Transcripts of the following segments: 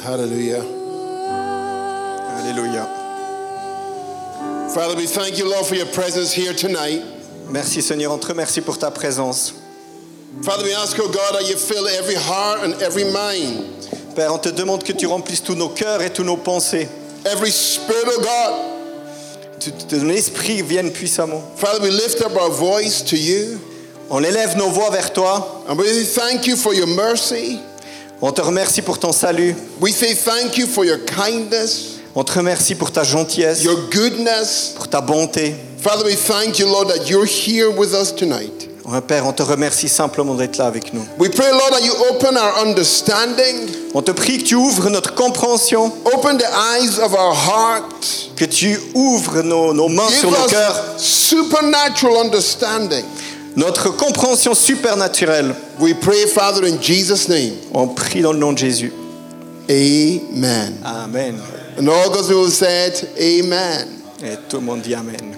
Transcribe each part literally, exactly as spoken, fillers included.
Hallelujah. Alléluia. Father, we thank you, Lord, for your presence here tonight. Merci Seigneur, on te remercie pour ta présence. Father, we ask, oh God, that you fill every heart and every mind. Père, on te demande que tu remplisses tous nos cœurs et tous nos pensées. Every spirit, oh God. Que ton esprit vienne puissamment. Father, we lift up our voice to you. On élève nos voix vers toi. And we thank you for your mercy. On te remercie pour ton salut. We say thank you for your kindness, On te remercie pour ta gentillesse, your goodness. pour ta bonté. Father, we thank you, Lord, that you're here with us tonight. Ouais, Père, on te remercie simplement d'être là avec nous. We pray, Lord, that you open our understanding, On te prie que tu ouvres notre compréhension, open the eyes of our heart. que tu ouvres nos, nos mains Give sur nos cœurs, us supernatural understanding. notre compréhension supernaturelle. We pray, Father, in Jesus' name. On prie dans le nom de Jésus. Amen. Amen. And all God's people said, Amen. Et tout le monde dit Amen.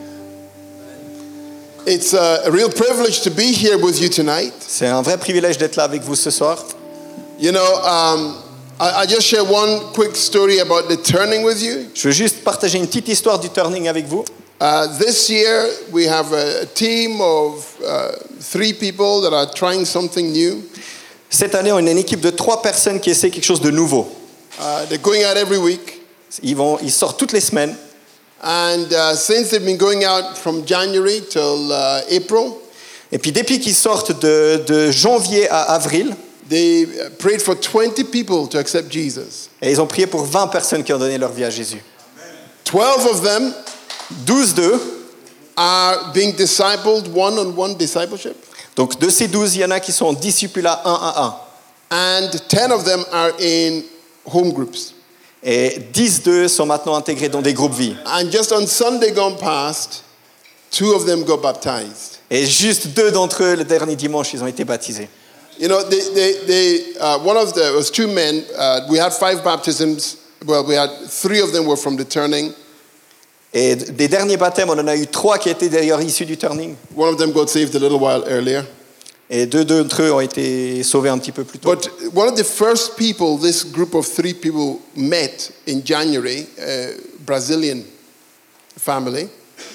It's a, a real privilege to be here with you tonight. C'est un vrai privilège d'être là avec vous ce soir. You know, um, I, I just share one quick story about the turning with you. Je veux juste partager une petite histoire du turning avec vous. Uh, this year, we have a, a team of uh, three people that are trying something new. Cette année, on a une équipe de trois personnes qui essaient quelque chose de nouveau. Uh, they're going out every week. Ils, vont, ils sortent toutes les semaines. And uh, since they've been going out from January till uh, April, Et puis depuis qu'ils sortent de, de janvier à avril, they prayed for twenty people to accept Jesus. et ils ont prié pour vingt personnes qui ont donné leur vie à Jésus. twelve of them douze d'eux, are being discipled, one-on-one discipleship. donc de ces douze, il y en a qui sont en discipulat un à un. And ten of them are in home groups. Et dix d'eux sont maintenant intégrés dans des groupes vie. And just on Sunday gone past, two of them got baptized. Et juste deux d'entre eux, le dernier dimanche, ils ont été baptisés. You know, they, they, they, uh, one of the, it was two men, uh, we had five baptisms, well, we had three of them were from the turning. Et des derniers baptêmes, on en a eu trois qui étaient d'ailleurs issus du turning. One of them got saved a little while earlier. Et deux d'entre eux ont été sauvés un petit peu plus tôt. But one of the first people, this group of three people met in January, a Brazilian family.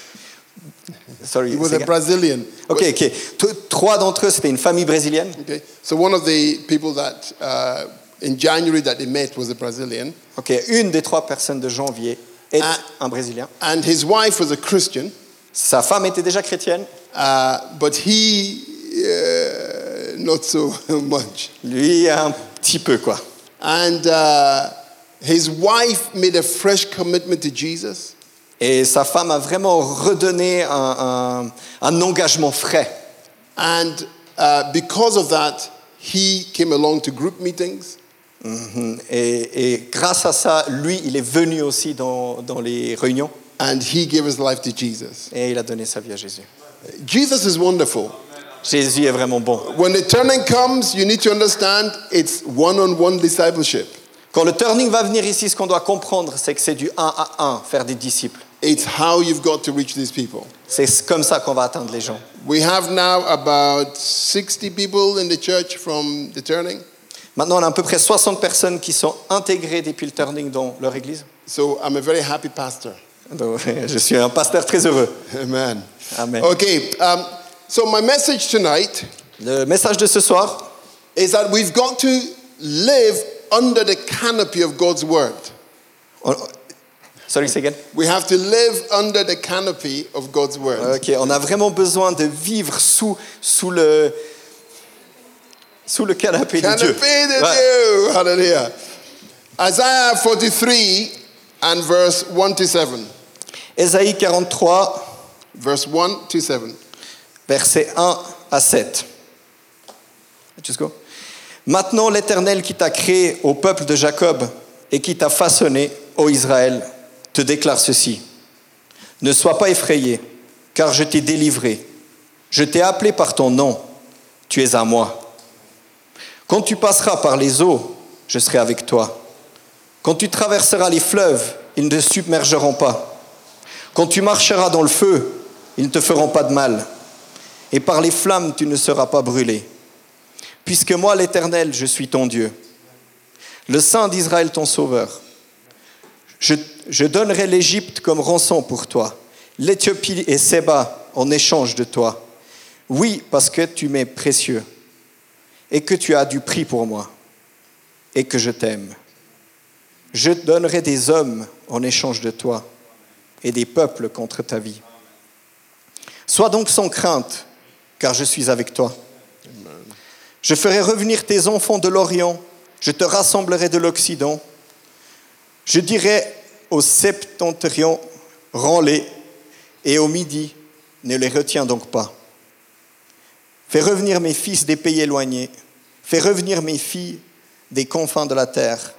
Sorry, He was c'est a gars. Brazilian. Ok, ok. T- Trois d'entre eux, c'était une famille brésilienne. Okay. So one of the people that uh, in January that they met was a Brazilian. Ok, une des trois personnes de janvier est Ah. un Brésilien. And his wife was a Christian, Sa femme était déjà chrétienne. uh, but he, uh, not so much. Lui, un petit peu, quoi. And uh, his wife made a fresh commitment to Jesus. Et sa femme a vraiment redonné un, un, un engagement frais. And uh, because of that, he came along to group meetings. Mhm. Et, et grâce à ça, lui, il est venu aussi dans, dans les réunions. And he gave his life to Jesus. Et il a donné sa vie à Jésus. Jesus is wonderful. Jésus est vraiment bon. When the turning comes, you need to understand it's one-on-one discipleship. Quand le turning va venir ici, ce qu'on doit comprendre, c'est que c'est du un à un, faire des disciples. It's how you've got to reach these people. C'est comme ça qu'on va atteindre les gens. We have now about sixty people in the church from the turning. Maintenant, on a à peu près soixante personnes qui sont intégrées depuis le turning dans leur église. So I'm a very happy pastor. Donc, je suis un pasteur très heureux. Amen. Amen. Okay, um, so my message tonight Le message de ce soir, is that we've got to live under the canopy of God's word. on, sorry, say again. We have to live under the canopy of God's word. Ok, on a vraiment besoin de vivre sous, sous le sous le canapé de Canopy Dieu. de Ouais. Dieu. Hallelujah. Isaiah forty-three and verse one to seven. Ésaïe quarante-trois, Verse one to seven. versets un à sept. Just go. Maintenant, l'Éternel qui t'a créé au peuple de Jacob et qui t'a façonné, ô Israël, te déclare ceci. Ne sois pas effrayé, car je t'ai délivré. Je t'ai appelé par ton nom. Tu es à moi. Quand tu passeras par les eaux, je serai avec toi. Quand tu traverseras les fleuves, ils ne te submergeront pas. Quand tu marcheras dans le feu, ils ne te feront pas de mal. Et par les flammes, tu ne seras pas brûlé. Puisque moi, l'Éternel, je suis ton Dieu. le Saint d'Israël ton sauveur. Je, je donnerai l'Égypte comme rançon pour toi, l'Éthiopie et Séba en échange de toi. Oui, parce que tu m'es précieux et que tu as du prix pour moi et que je t'aime. Je donnerai des hommes en échange de toi et des peuples contre ta vie. Sois donc sans crainte, car je suis avec toi. Amen. Je ferai revenir tes enfants de l'Orient, je te rassemblerai de l'Occident. Je dirai au septentrion, rends-les, et au midi, ne les retiens donc pas. Fais revenir mes fils des pays éloignés, fais revenir mes filles des confins de la terre.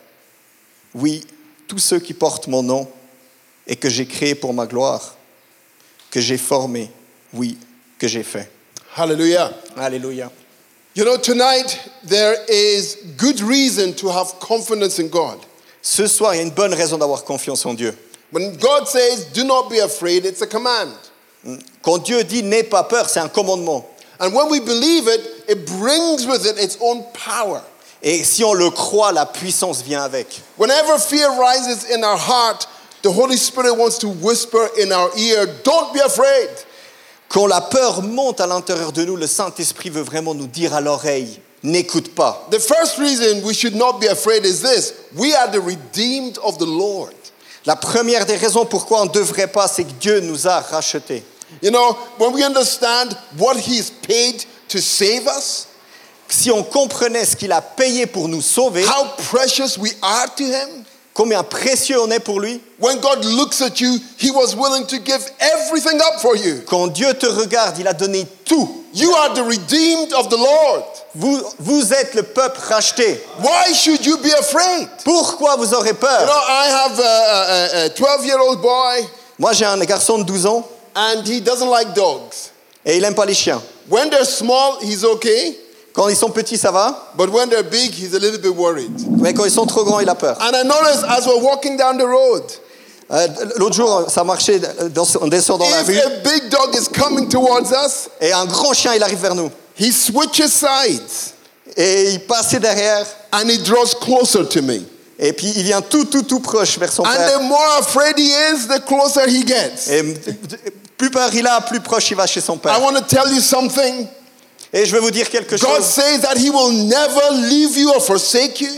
Oui, tous ceux qui portent mon nom et que j'ai créés pour ma gloire, que j'ai formés, oui, que j'ai fait. Hallelujah. Alléluia. You know, tonight there is good reason to have confidence in God. Ce soir, il y a une bonne raison d'avoir confiance en Dieu. When God says, do not be afraid, it's a command. Quand Dieu dit « n'aie pas peur », c'est un commandement. And when we believe it, it brings with it its own power. Et si on le croit, la puissance vient avec. Whenever fear rises in our heart, the Holy Spirit wants to whisper in our ear, don't be afraid. Quand la peur monte à l'intérieur de nous, le Saint-Esprit veut vraiment nous dire à l'oreille, n'écoute pas. The first reason we should not be afraid is this: we are the redeemed of the Lord. La première des raisons pourquoi on ne devrait pas, c'est que Dieu nous a rachetés. You know, when we understand what He's paid to save us, si on comprenait ce qu'il a payé pour nous sauver, how precious we are to Him, combien précieux on est pour lui. when God looks at you, He was willing to give everything up for you. Quand Dieu te regarde, il a donné tout. You are the redeemed of the Lord. Vous, vous êtes le peuple racheté. Why should you be afraid? Pourquoi vous aurez peur? You know, I have a, a, a twelve-year-old boy, Moi, j'ai un garçon de douze ans and he doesn't like dogs. et il n'aime pas les chiens. When they're small, he's okay, Quand ils sont petits, ça va. but when they're big, he's a little bit worried. Mais quand ils sont trop grands, il a peur. And I noticed as we're walking down the road, Euh, l'autre jour, ça marchait, dans, on descend dans la if rue a big dog is coming towards us, et un grand chien, il arrive vers nous. he switches sides Et il passait derrière and he draws closer to me. et puis il vient tout, tout, tout proche vers son And père. the more afraid he is, the closer he gets. Et plus peur il a, plus proche il va chez son I père. want to tell you something. Et je vais vous dire quelque God chose. says that he will never leave you or forsake you.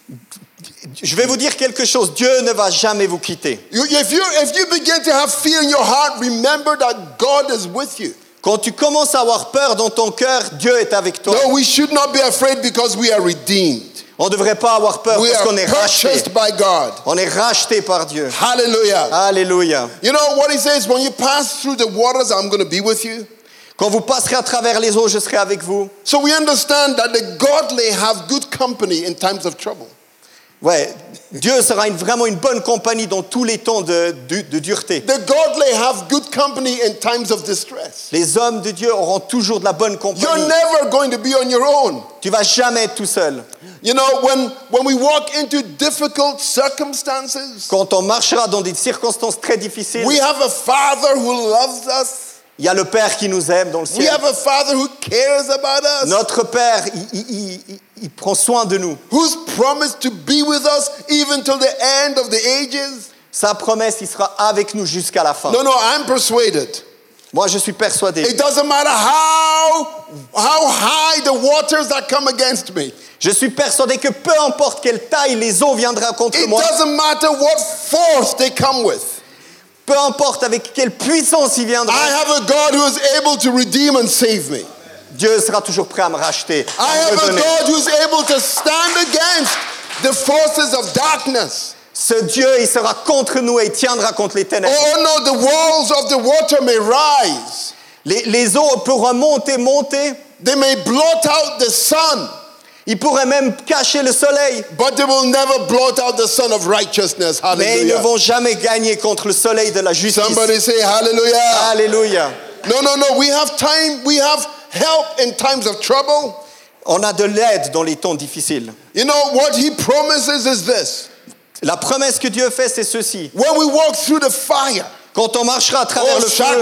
Je vais vous dire quelque chose. Dieu ne va jamais vous quitter. You, if, you, if you begin to have fear in your heart, remember that God is with you. Quand tu commences à avoir peur dans ton cœur, Dieu est avec toi. No, we should not be afraid because we are redeemed. On ne devrait pas avoir peur We parce are qu'on est racheté. purchased by God. On est racheté par Dieu. Hallelujah. Alléluia. You know what he says? When you pass through the waters, I'm going to be with you. Quand vous passerez à travers les eaux, je serai avec vous. So we understand that the godly have good company in times of trouble. Ouais, Dieu sera une, vraiment une bonne compagnie dans tous les temps de, de, de dureté. The godly have good company in times of distress. Les hommes de Dieu auront toujours de la bonne You're compagnie. never going to be on your own. Tu vas jamais être tout seul. You know, when, when we walk into difficult circumstances, Quand on marchera dans des circonstances très difficiles, we have a Father who loves us. il y a le Père qui nous aime dans le We ciel. have a Father who cares about us, Notre Père, il, il- il- il- il prend soin de nous. who's promised to be with us even till the end of the ages. Sa promesse, il sera avec nous jusqu'à la fin. No, no, I'm persuaded. Moi, je suis persuadé. It doesn't matter how, how high the waters that come against me. Je suis persuadé que peu importe quelle taille les eaux viendront contre It moi, doesn't matter what force they come with. peu importe avec quelle puissance ils viendront, I have a God who is able to redeem and save me. Dieu sera toujours prêt à me racheter. I à me have a redonner. God who is able to stand against the forces of darkness. Ce Dieu, il sera contre nous et il tiendra contre les ténèbres. Oh no, the walls of the water may rise. Les, les eaux pourront monter, monter. They may blot out the sun, Ils pourraient même cacher le soleil. but they will never blot out the sun of righteousness. Mais ils ne Hallelujah. vont jamais gagner contre le soleil de la justice. Somebody say hallelujah. Alléluia. No, no, no. We have time. We have help in times of trouble. On a de l'aide dans les temps difficiles. You know what he promises is this. La promesse que Dieu fait, c'est ceci. When we walk through the fire, Quand on marchera à travers oh, le feu,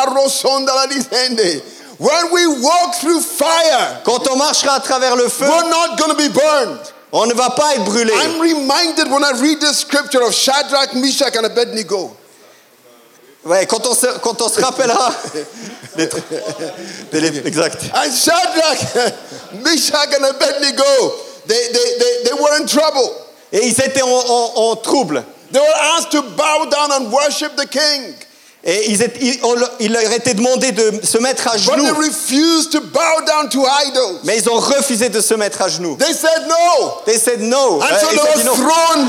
shakabarosondalalisende. When we walk through fire, quand on marchera à travers le feu, we're not going to be burned. On ne va pas être brûlé. I'm reminded when I read the scripture of Shadrach, Meshach, and Abednego. Ouais, quand on se, quand on se rappellera. des- des- exact. And Shadrach, Meshach, and Abednego, they, they, they, they were in trouble. Et ils étaient en, en- en trouble. They were asked to bow down and worship the king. Et ils étaient, ils- on leur- il leur était demandé de se mettre à But they genoux. refused to bow down to idols. Mais ils ont refusé de se mettre à genoux. They said no. They said no. And Euh, so ils they ont dit were non. thrown.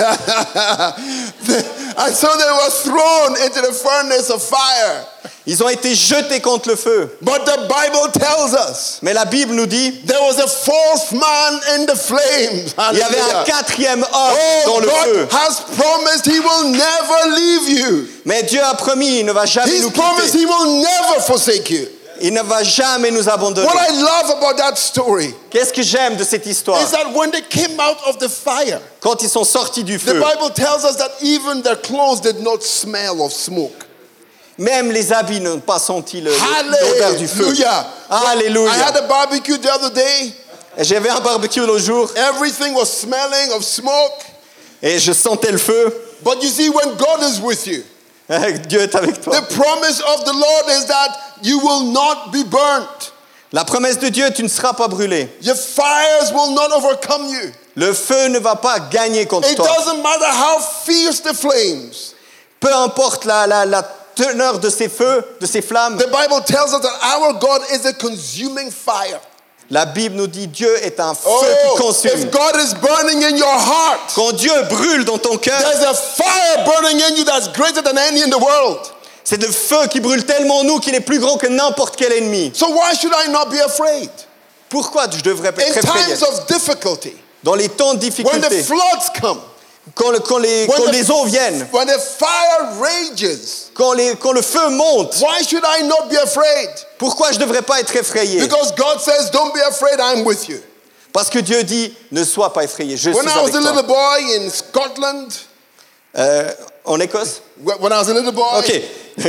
And so they were thrown into the furnace of fire. Ils ont été jetés contre le feu. But the Bible tells us Mais la Bible nous dit, there was a fourth man in the flames. il y avait un Hallelujah. quatrième homme dans Oh, le feu. God has promised he will never leave you. Mais Dieu a promis, il ne va jamais He's nous promised quitter. he will never forsake you. Il ne va jamais nous abandonner. What I love about that story Qu'est-ce que j'aime de cette histoire? is that when they came out of the fire, Quand ils sont sortis du the feu, Bible tells us that even their clothes did not smell of smoke. même les habits n'ont pas senti le- l'odeur du feu. Hallelujah. Alléluia. I had a barbecue the other day. J'avais un barbecue l'autre jour Everything was smelling of smoke. et je sentais le feu. But you see, when God is with you, Dieu est avec toi. the promise of the Lord is that you will not be burnt. La promesse de Dieu, tu ne seras pas brûlé. Your fires will not overcome you. Le feu ne va pas gagner contre It toi. doesn't matter how fierce the flames. Peu importe la, la, la teneur de ces feux, de ces flammes. The Bible tells us that our God is a consuming fire. La Bible nous dit Dieu est un feu Oh, qui consume. if God is burning in your heart, Quand Dieu brûle dans ton cœur, there's a fire burning in you that's greater than any in the world. c'est le feu qui brûle tellement en nous qu'il est plus grand que n'importe quel ennemi. So why should I not be afraid? Pourquoi je devrais pas In être effrayé? times of difficulty, Dans les temps de when the difficulté, floods come, quand, le- quand les, when quand the- les eaux viennent, when the fire rages, quand, les- quand le feu monte, why should I not be afraid? pourquoi je ne devrais pas être effrayé? Because God says, don't be afraid, I'm with you. Parce que Dieu dit, ne sois pas effrayé, je When suis I was avec a toi. little boy in Scotland, Euh, en Écosse? wh- when I was a little boy, Ok.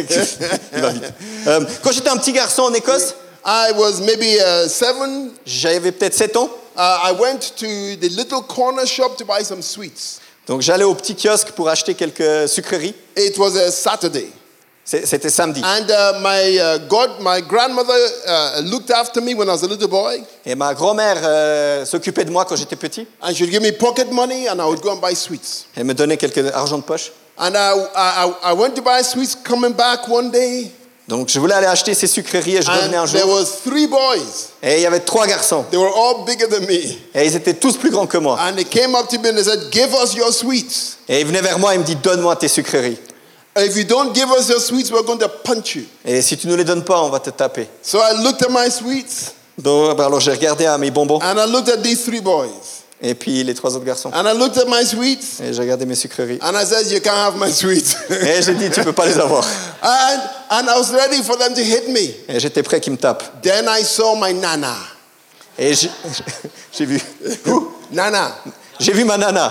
Il va vite. Euh, quand j'étais un petit garçon en Écosse, I was maybe uh, seven. j'avais peut-être sept ans. Uh, I went to the little corner shop to buy some sweets. Donc j'allais au petit kiosque pour acheter quelques sucreries. It was a Saturday. C'est- C'était samedi. And uh, my, uh, God, my grandmother uh, looked after me when I was a little boy. Et ma grand-mère euh, s'occupait de moi quand j'étais petit. And she would give me pocket money and I would go and buy sweets. Elle me donnait quelques argent de poche. And I, I, I went to buy sweets coming back one day. Donc je voulais aller acheter ces sucreries et je revenais un And there jour. was three boys. Et il y avait trois garçons. They were all bigger than me. Et ils étaient tous plus grands que moi. And they came up to me and they said, give us your sweets. Et ils venaient vers moi et me disaient, donne-moi tes sucreries. If you don't give us your sweets, we're going to punch you. Et si tu ne les donnes pas, on va te taper. So I looked at my sweets Donc ben alors j'ai regardé à mes bonbons. and I looked at these three boys. Et puis les trois autres garçons. And I looked at my sweets Et j'ai regardé mes sucreries. and I said, you can't have my sweets. Et j'ai dit, tu peux pas les avoir. and, and I was ready for them to hit me. Et j'étais prêt qu'ils me tapent. Then I saw my nana. Et j'ai j'ai vu. Nana. J'ai vu ma nana.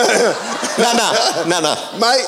Nana, nana. My,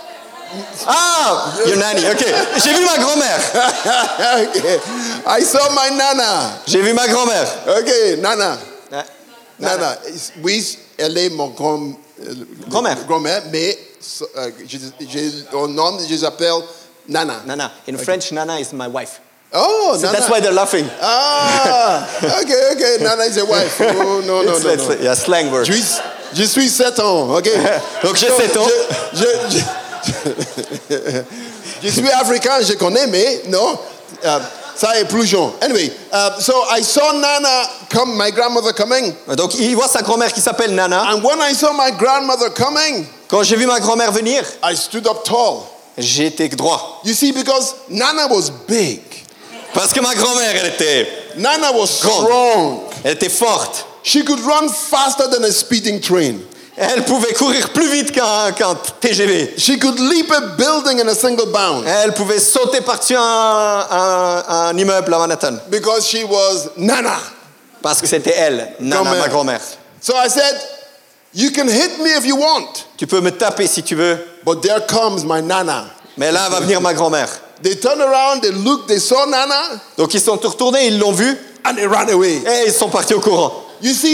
Ah, your nanny, ok. J'ai vu ma grand-mère. okay. I saw my nana. J'ai vu ma grand-mère. Okay, nana. Ah, Nana. Oui, elle est mon grand, euh, Grand-mère. grand-mère, mais euh, je, je, au nom, je l'appelle Nana. Nana. In French, nana is my wife. Oh, So Nana. that's why they're laughing. Ah, okay, okay. Nana is a wife. Oh, no, no, It's, no, it's no. a yeah, slang word. Je suis, je suis sept ans, ok? Donc j'ai sept ans. Je, je, je, je suis africain, je connais, mais non, euh, ça est plus jeune. Anyway, uh, so I saw Nana come, my grandmother coming. Donc il voit sa grand-mère qui s'appelle Nana. And when I saw my grandmother coming, Quand j'ai vu ma grand-mère venir, I stood up tall. j'ai été droit. You see, because Nana was big. Parce que ma grand-mère, elle était, Nana was Grande. strong. elle était forte. She could run faster than a speeding train. Elle pouvait courir plus vite qu'un qu'un T G V. She could leap a building in a single bound. Elle pouvait sauter par-dessus un, un, un immeuble à Manhattan. Because she was Nana. Parce que c'était elle, Nana, Grand-mère. ma grand-mère. So I said, you can hit me if you want, Tu peux me taper si tu veux, but there comes my Nana. mais là va venir ma grand-mère. They turned around, they looked, they saw Nana, Donc ils sont retournés, ils l'ont vue, and they ran away. et ils sont partis au courant. You see,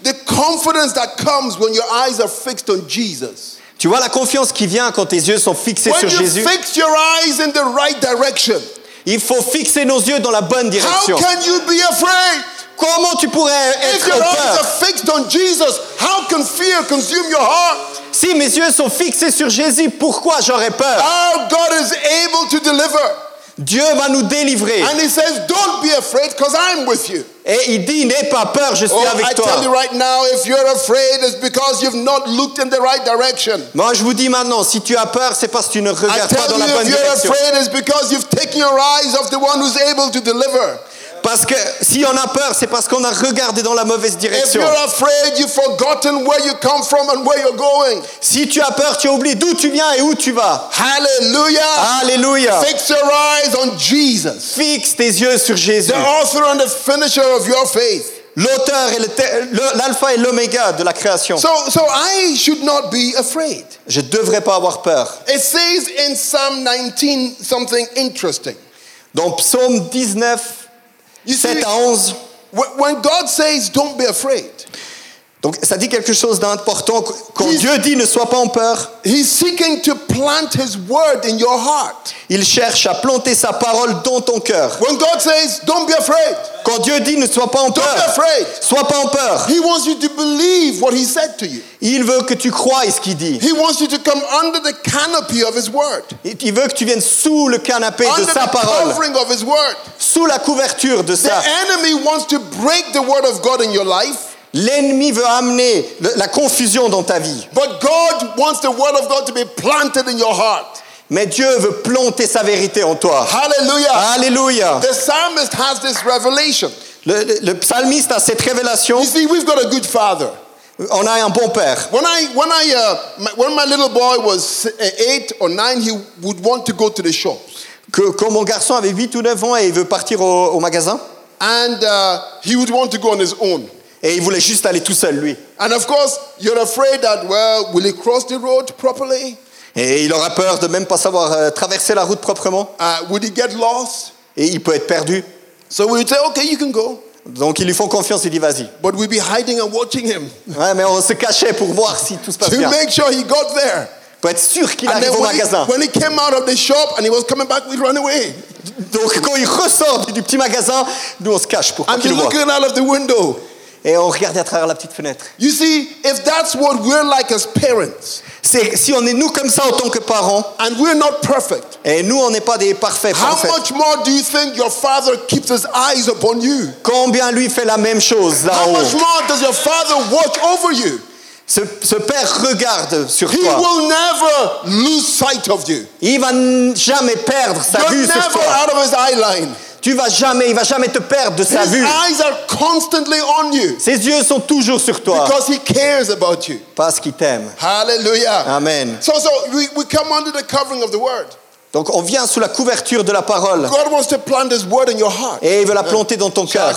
the confidence that comes when your eyes are fixed on Jesus. Tu vois la confiance qui vient quand tes yeux sont fixés When sur you Jésus. fix your eyes in the right direction, Il faut fixer nos yeux dans la bonne how direction. can you be afraid? Comment tu pourrais If être your au eyes peur? are fixed on Jesus, how can fear consume your heart? Si mes yeux sont fixés sur Jésus, pourquoi j'aurais peur? Our God is able to deliver. Dieu va nous délivrer. And he says, don't be afraid because I'm with you. Et il dit, n'aie pas peur, je suis Oh, avec I toi. tell you right now, if you're afraid, it's because you've not looked in the right direction. Moi, je vous dis maintenant, si tu as peur, c'est parce que tu ne I regardes pas tell dans you, la bonne if you're direction. afraid, it's because you've taken your eyes off the one who's able to deliver. Parce que si on a peur, c'est parce qu'on a regardé dans la mauvaise If direction. you're afraid, you've forgotten where you come from and where you're going. Si tu as peur, tu as oublié d'où tu viens et où tu vas. Hallelujah. Alléluia. Fix your eyes on Jesus, Fixe tes yeux sur Jésus, the author and the finisher of your faith. l'auteur et le te- le- l'alpha et l'oméga de la création. So, so I should not be afraid. Je ne devrais pas avoir peur. It says in Psalm nineteen something interesting. Dans Psaume dix-neuf, You see, sept à onze, wh- when God says, don't be afraid, donc ça dit quelque chose d'important. Quand He's- Dieu dit ne sois pas en peur, He's seeking to plant His word in your heart. il cherche à planter sa parole dans ton cœur. When God says, don't be afraid, Quand Dieu dit ne sois pas en don't be peur, afraid, sois pas en peur. He wants you to believe what He said to you. Il veut que tu croies ce qu'il dit. He wants you to come under the canopy of His word, Il veut que tu viennes sous le canapé de under sa the parole, covering of His word. sous la couverture de The sa. enemy wants to break the word of God in your life, L'ennemi veut amener le- la confusion dans ta vie. but God wants the word of God to be planted in your heart. Mais Dieu veut planter sa vérité en toi. Hallelujah. Alléluia. The psalmist has this revelation. Le, le- le psalmiste a cette révélation. You see, we've got a good father. On a un bon père. When I, when I, uh, my, when my little boy was uh, eight or nine, he would want to go to the shops, Que, quand mon garçon avait huit ou neuf ans et il veut partir au, au magasin, and uh, he would want to go on his own. et il voulait juste aller tout seul, lui. And of course, you're afraid that, well, will he cross the road properly? Et il aura peur de même pas savoir euh, traverser la route proprement. Uh, would he get lost? Et il peut être perdu. So we would say, okay, you can go, Donc ils lui font confiance, il dit vas-y. but we'd be hiding and watching him Ouais, mais on se cachait pour voir si tout se passe to bien. make sure he got there. Pour être sûr qu'il And arrive then au when he, magasin. when he came out of the shop and he was coming back, we'd run away Donc quand il ressort du, du petit magasin, nous on se cache pour pas and be qu'il le voit. looking out of the window. Et on regardait à travers la petite fenêtre. You see, if that's what we're like as parents, C'est, si on est nous comme ça en tant que parents, and we're not perfect, et nous on n'est pas des parfaits, how parfaits. much more do you think your father keeps his eyes upon you? Combien lui fait la même chose How là-haut. much more does your father watch over you? Ce, ce père regarde sur He toi. will never lose sight of you. Il va n- jamais perdre sa You're vue sur never toi. out of his eye line. Tu vas jamais, il va jamais te perdre de sa His vue. eyes are constantly on you Ses yeux sont toujours sur toi because he cares about you. parce qu'il t'aime. Hallelujah. Amen. So, so we, we come under the covering of the word. Donc on vient sous la couverture de la parole God wants to plant his word in your heart. et il veut la planter dans ton cœur.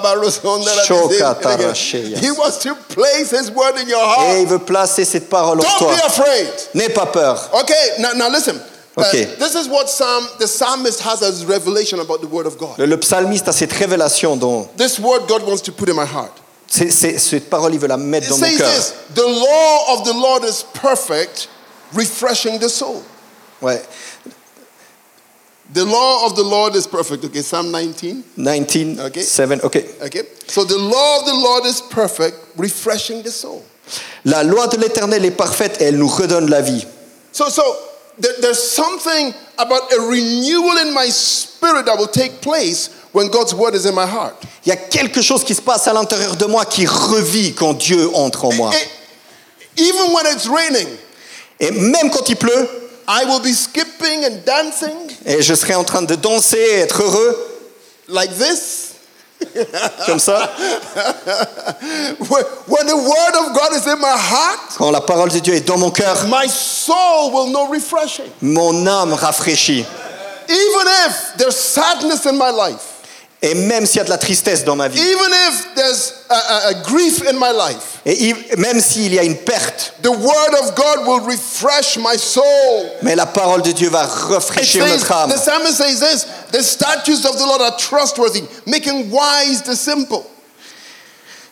He wants to place his word in your Et heart. il veut placer cette parole en Don't toi. be afraid. N'aie pas peur. Okay, now, now listen. Uh, Okay. this is what Psalm, the psalmist has as revelation about the word of God. Le, le psalmiste a cette révélation dont This word God wants to put in my heart. c'est, c'est- cette parole, il veut la mettre It dans mon says cœur. this: the law of the Lord is perfect, refreshing the soul. Ouais. The law of the Lord is perfect. Okay, Psalm nineteen. dix-neuf, Okay. sept, ok. Okay, so the law of the Lord is perfect, refreshing the soul. La loi de l'Éternel est parfaite et elle nous redonne la vie. So, so there, there's something about a renewal in my spirit that will take place when God's word is in my heart. Il y a quelque chose qui se passe à l'intérieur de moi qui revit quand Dieu entre en moi. It- even when it's raining, Et même quand il pleut, I will be skipping and dancing et je serai en train de danser et être heureux, like this. comme ça. When when the word of God is in my heart, Quand la parole de Dieu est dans mon cœur, my soul will know refreshing. mon âme rafraîchit. Even if there's sadness in my life, Et même s'il y a de la tristesse dans ma vie, even if there's a, a, a grief in my life, et il- même s'il y a une perte, the word of God will refresh my soul. mais la parole de Dieu va It rafraîchir says, notre âme. the psalmist says this: the statutes of the Lord are trustworthy, making wise the simple.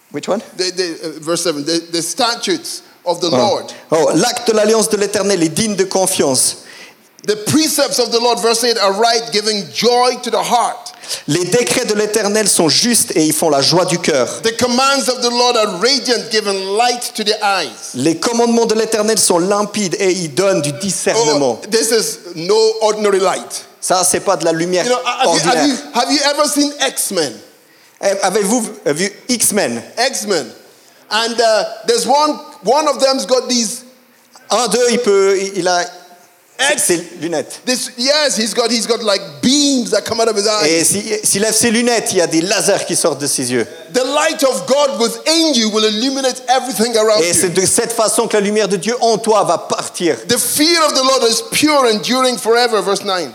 Which one? The, the, uh, verse seven, the, the statutes of the Oh. Lord. Oh, l'acte de l'alliance de l'Éternel est digne de confiance. The precepts of the Lord, verse eight, are right, giving joy to the heart. Les décrets de l'Éternel sont justes et ils font la joie du cœur. The commands of the Lord are radiant, giving light to the eyes. Les commandements de l'Éternel sont limpides et ils donnent du discernement. Oh, this is no ordinary light. Ça, c'est pas de la lumière You know, have you, ordinaire. have you, have you ever seen X-Men? Eh, Avez-vous vu X-Men? X-Men. And uh, there's one, one of them's got these, Un d'eux, il peut, il a X- ses lunettes. this, yes, he's got, he's got like beams that come out of his eyes. Et si- s'il lève ses lunettes, il y a des lasers qui sortent de ses yeux. The light of God within you will illuminate everything around Et c'est you. de cette façon que la lumière de Dieu en toi va partir. The fear of the Lord is pure, enduring forever, verse nine.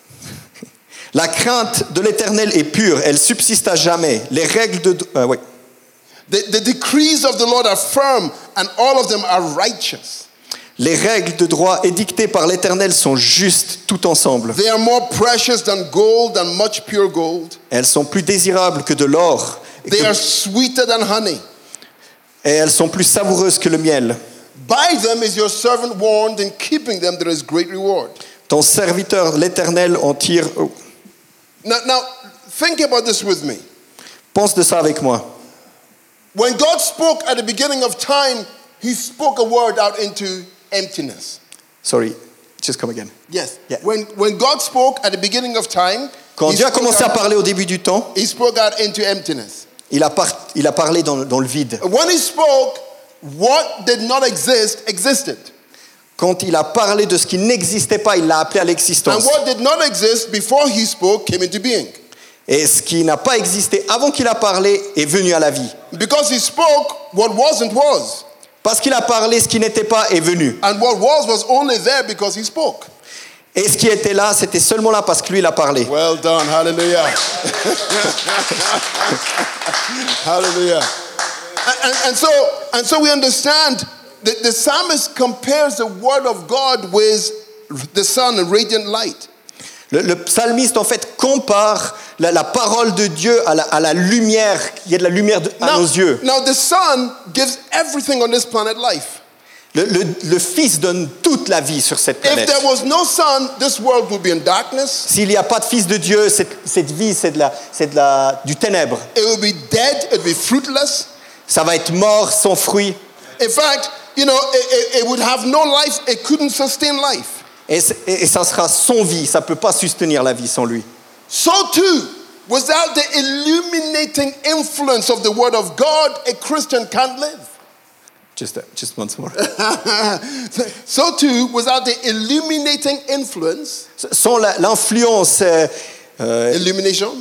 La crainte de l'Éternel est pure, elle subsiste à jamais. Les règles de... euh, oui. The, the decrees of the Lord are firm, and all of them are righteous. Les règles de droit édictées par l'Éternel sont justes tout ensemble. They are more precious than gold, than much pure gold. Elles sont plus désirables que de l'or. Et, They que- are sweeter than honey. et elles sont plus savoureuses que le miel. By them is your servant warned, in keeping them there is great reward. Ton serviteur, l'Éternel, en tire... oh. Now, now, think about this with me. Pense de ça avec moi. When God spoke at the beginning of time, He spoke a word out into emptiness. Sorry, just come again. Yes. Yeah. When, when God spoke at the beginning of time, Quand he, Dieu a spoke commencé à out, parler au début du temps, he spoke out into emptiness. il a, par- il a parlé dans, dans le vide. When He spoke, what did not exist existed. Quand il a parlé de ce qui n'existait pas, il l'a appelé à And l'existence. what did not exist before He spoke came into being. Et ce qui n'a pas existé avant qu'il a parlé est venu à la vie. Because He spoke, what wasn't was. Parce qu'il a parlé, ce qui n'était pas est venu. And what was was only there because He spoke. Et ce qui était là, c'était seulement là parce que lui, il a parlé. Well done. Hallelujah. Hallelujah. And, and, and so and so we understand that the psalmist compares the word of God with the sun and radiant light. Le, le psalmiste, en fait, compare la, la parole de Dieu à la, à la lumière. Il y a de la lumière de- à Now, nos yeux. now the sun gives everything on this planet life. Le, le- le Fils donne toute la vie sur cette If planète. there was no sun, this world would be in darkness. S'il n'y a pas de Fils de Dieu, cette, cette vie, c'est, de la, c'est de la, du ténèbre. It would be dead. It would be fruitless. Ça va être mort, sans fruit. In fact, you know, it, it, it would have no life. It couldn't sustain life. Et, c'est- et ça sera sans vie. Ça ne peut pas soutenir la vie sans lui. So too, without the illuminating influence of the Word of God, a Christian can't live. Just, uh, just once more. So too, without the illuminating influence, Sans la- l'influence euh, euh, illumination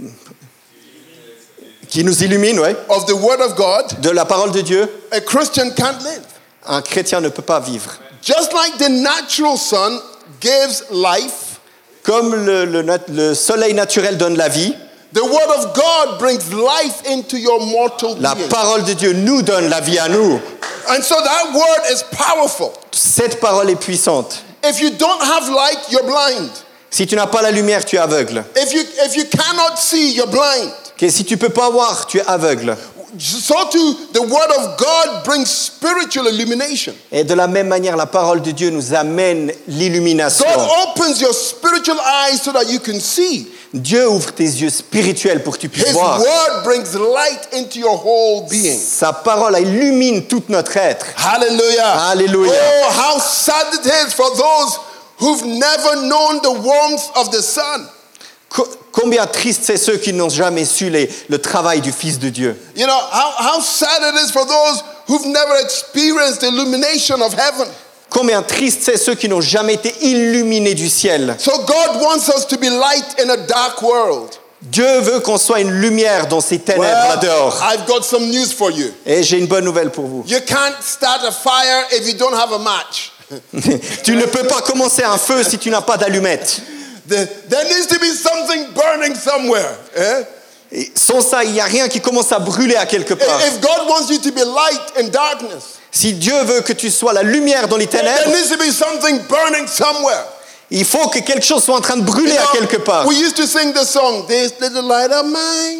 qui nous illumine, ouais, of the Word of God, de la parole de Dieu, a Christian can't live. un chrétien ne peut pas vivre. Just like the natural sun gives life, Comme le, le nat- le soleil naturel donne la vie, the Word of God brings life into your mortal la being. parole de Dieu nous donne la vie à nous. And so that Word is powerful. Cette parole est puissante. If you don't have light, you're blind. Si tu n'as pas la lumière, tu es aveugle. If you, if you cannot see, you're blind. Ok, si tu ne peux pas voir, tu es aveugle. So too, the Word of God brings spiritual illumination. Et de la même manière, la parole de Dieu nous amène l'illumination. God opens your spiritual eyes so that you can see. Dieu ouvre tes yeux spirituels pour que tu puisses His voir. Word brings light into your whole being. Sa parole illumine tout notre être. Hallelujah. Hallelujah. Oh, how sad it is for those who've never known the warmth of the sun. Co- Combien triste c'est ceux qui n'ont jamais su les- le travail du Fils de Dieu. You know, how, how sad it is for those who've never experienced the illumination of heaven. Combien triste c'est ceux qui n'ont jamais été illuminés du ciel. So God wants us to be light in a dark world. Dieu veut qu'on soit une lumière dans ces ténèbres là Well, dehors. I've got some news for you. Et j'ai une bonne nouvelle pour vous. You can't start a fire if you don't have a match. Tu ne peux pas commencer un feu si tu n'as pas d'allumette. There, there needs to be something burning somewhere. eh? Et sans ça, il n'y a rien qui commence à brûler à quelque part. If God wants you to be light in darkness, Si Dieu veut que tu sois la lumière dans les there ténèbres, needs to be something burning somewhere. il faut que quelque chose soit en train de brûler You à know, quelque part. we used to sing the song, "This little light of mine."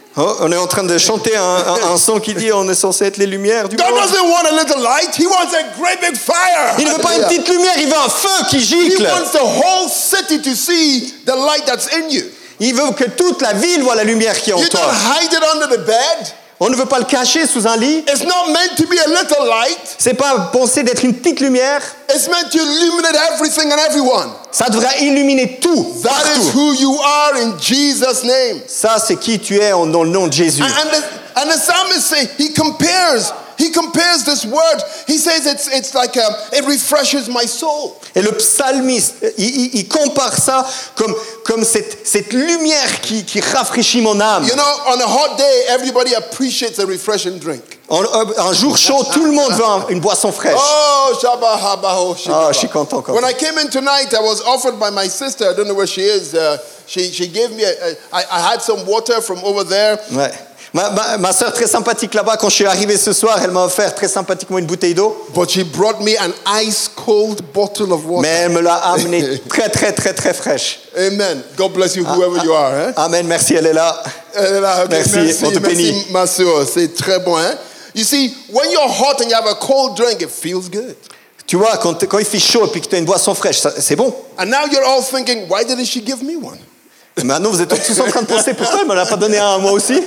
Oh, on est en train de chanter un, un, un son qui dit on est censé être les lumières du God monde. doesn't want a little light. He wants a great big fire. Il ne veut pas une Hallelujah. petite lumière, il veut un feu qui He gicle. wants the whole city to see the light that's in you. Il veut que toute la ville voit la lumière qui est en You toi. don't hide it under the bed. On ne veut pas le cacher sous un lit. It's not meant to be a little light. C'est pas pensé d'être une petite lumière. It's meant to illuminate everything and everyone. Ça devrait illuminer tout, That is partout. who you are in Jesus' name. Ça, c'est qui tu es en- dans le nom de Jésus. And, and, the, and the psalmist say he compares. He compares this word. He says it's it's like a, it refreshes my soul. Et le psalmiste, il, il- il compare ça comme, comme cette, cette lumière qui, qui rafraîchit mon âme. You know, on a hot day, everybody appreciates a refreshing drink. En- un jour chaud, tout le monde veut un- une boisson fraîche. Oh, Shabba Haba Ho Shibaba. Ah, je suis content, content. When I came in tonight, I was offered by my sister. I don't know where she is. Uh, she she gave me. A, a, I, I had some water from over there. Ouais. Ma, ma, ma soeur très sympathique là-bas, quand je suis arrivé ce soir, elle m'a offert très sympathiquement une bouteille d'eau. But she brought me an ice cold bottle of water. Mais elle me l'a amenée très très très très fraîche. Amen. God bless you, whoever you are. Hein? Amen, merci, elle est là. Euh, là, ok, Merci, merci, on te merci, bénit. ma soeur. C'est très bon. Hein? You see, when you're hot and you have a cold drink, it feels good. Tu vois, quand, quand il fait chaud et puis que tu as une boisson fraîche, ça- c'est bon. And now you're all thinking, why didn't she give me one? Maintenant, vous êtes tous en train de penser pourquoi elle ne me l'a pas donné un à moi aussi.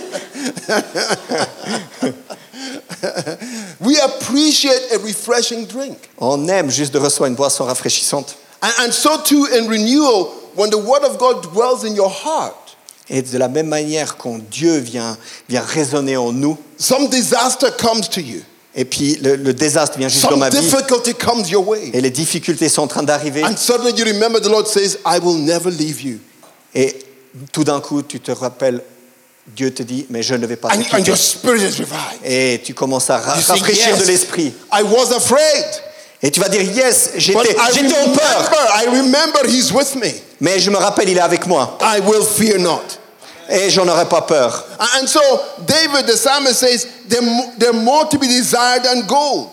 We appreciate a refreshing drink. On aime juste de recevoir une boisson rafraîchissante. And, and so too in renewal, when the word of God dwells in your heart, Et de la même manière quand Dieu vient, vient résonner en nous, some disaster comes to you. et puis le, le désastre vient juste dans Some ma vie, difficulty comes your way. et les difficultés sont en train d'arriver, And suddenly you remember the Lord says, I will never leave you. et tout d'un coup, tu te rappelles, Dieu te dit, mais je ne vais pas te And, and quitter. your spirit is revived. Et tu commences à ra- You say, rafraîchir yes, de l'esprit. I was afraid. Et tu vas dire, yes, But j'étais I j'étais en remember, peur, I remember he's with me. mais je me rappelle, il est avec moi. I will fear not. Et j'en aurais pas peur. And so David, the psalmist says, they're, mo- they're more to be desired than gold.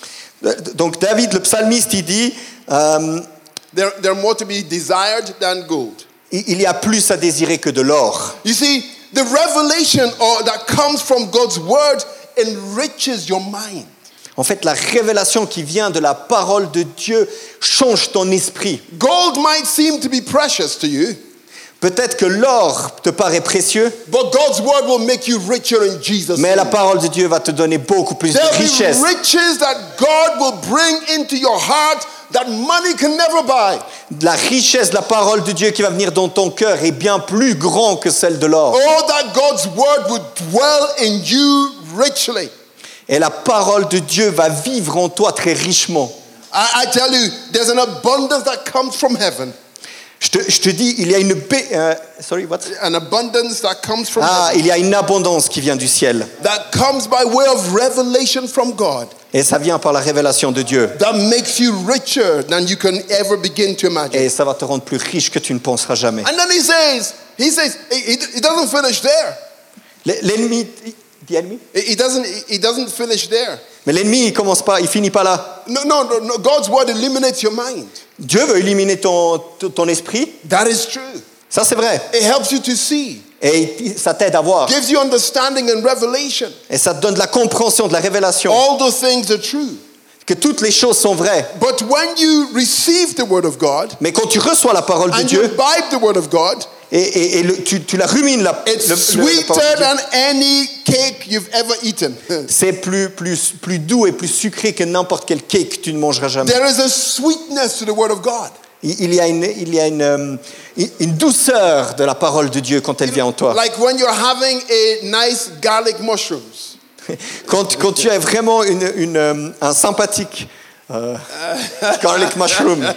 Donc David, le psalmiste, il dit, euh, They're, they're more to be desired than gold. il il y a plus à désirer que de l'or. You see, the revelation or, that comes from God's word enriches your mind. En fait, la révélation qui vient de la parole de Dieu change ton esprit. Gold might seem to be precious to you, Peut-être que l'or te paraît précieux, but God's word will make you richer in Jesus' mais la name. parole de Dieu va te donner beaucoup plus de There'll richesse. be riches that God will bring into your heart that money can never buy. La richesse de la parole de Dieu qui va venir dans ton cœur est bien plus grand que celle de l'or. Oh, that God's word would dwell in you richly. Et la parole de Dieu va vivre en toi très richement. I, I tell you, there's an abundance that comes from heaven. Je te, je te dis, il y a une ba- euh, sorry, what? An abundance that comes from Ah, heaven. il y a une abondance qui vient du ciel. That comes by way of revelation from God. Et ça vient par la révélation de Dieu. That makes you richer than you can ever begin to imagine. Et ça va te rendre plus riche que tu ne penseras jamais. And then he says, he says, he, he he doesn't finish there. L'ennemi, the enemy? He he doesn't, he doesn't finish there. Mais l'ennemi, il commence pas, il finit pas là. No, no, no, no. God's word eliminates your mind. Dieu veut éliminer ton, ton ton esprit. That is true. Ça, c'est vrai. It helps you to see. Et il- ça t'aide à voir. Gives you understanding and revelation. Et ça te donne de la compréhension, de la révélation. All those things are true. Que toutes les choses sont vraies. But when you receive the word of God Mais quand tu reçois la parole de and you Dieu, imbibe the word of God, et, et, et le- tu, tu la rumines, la, it's le- le- la sweeter parole de Dieu, than any cake you've ever eaten. c'est plus, plus, plus doux et plus sucré que n'importe quel cake que tu ne mangeras jamais. There is a sweetness to the word of God. Il il y a, une, il y a une, euh, une douceur de la parole de Dieu quand elle vient en toi. Like when you're having a nice garlic mushrooms. Quand, quand tu as vraiment une, une, euh, un sympathique euh, garlic mushroom,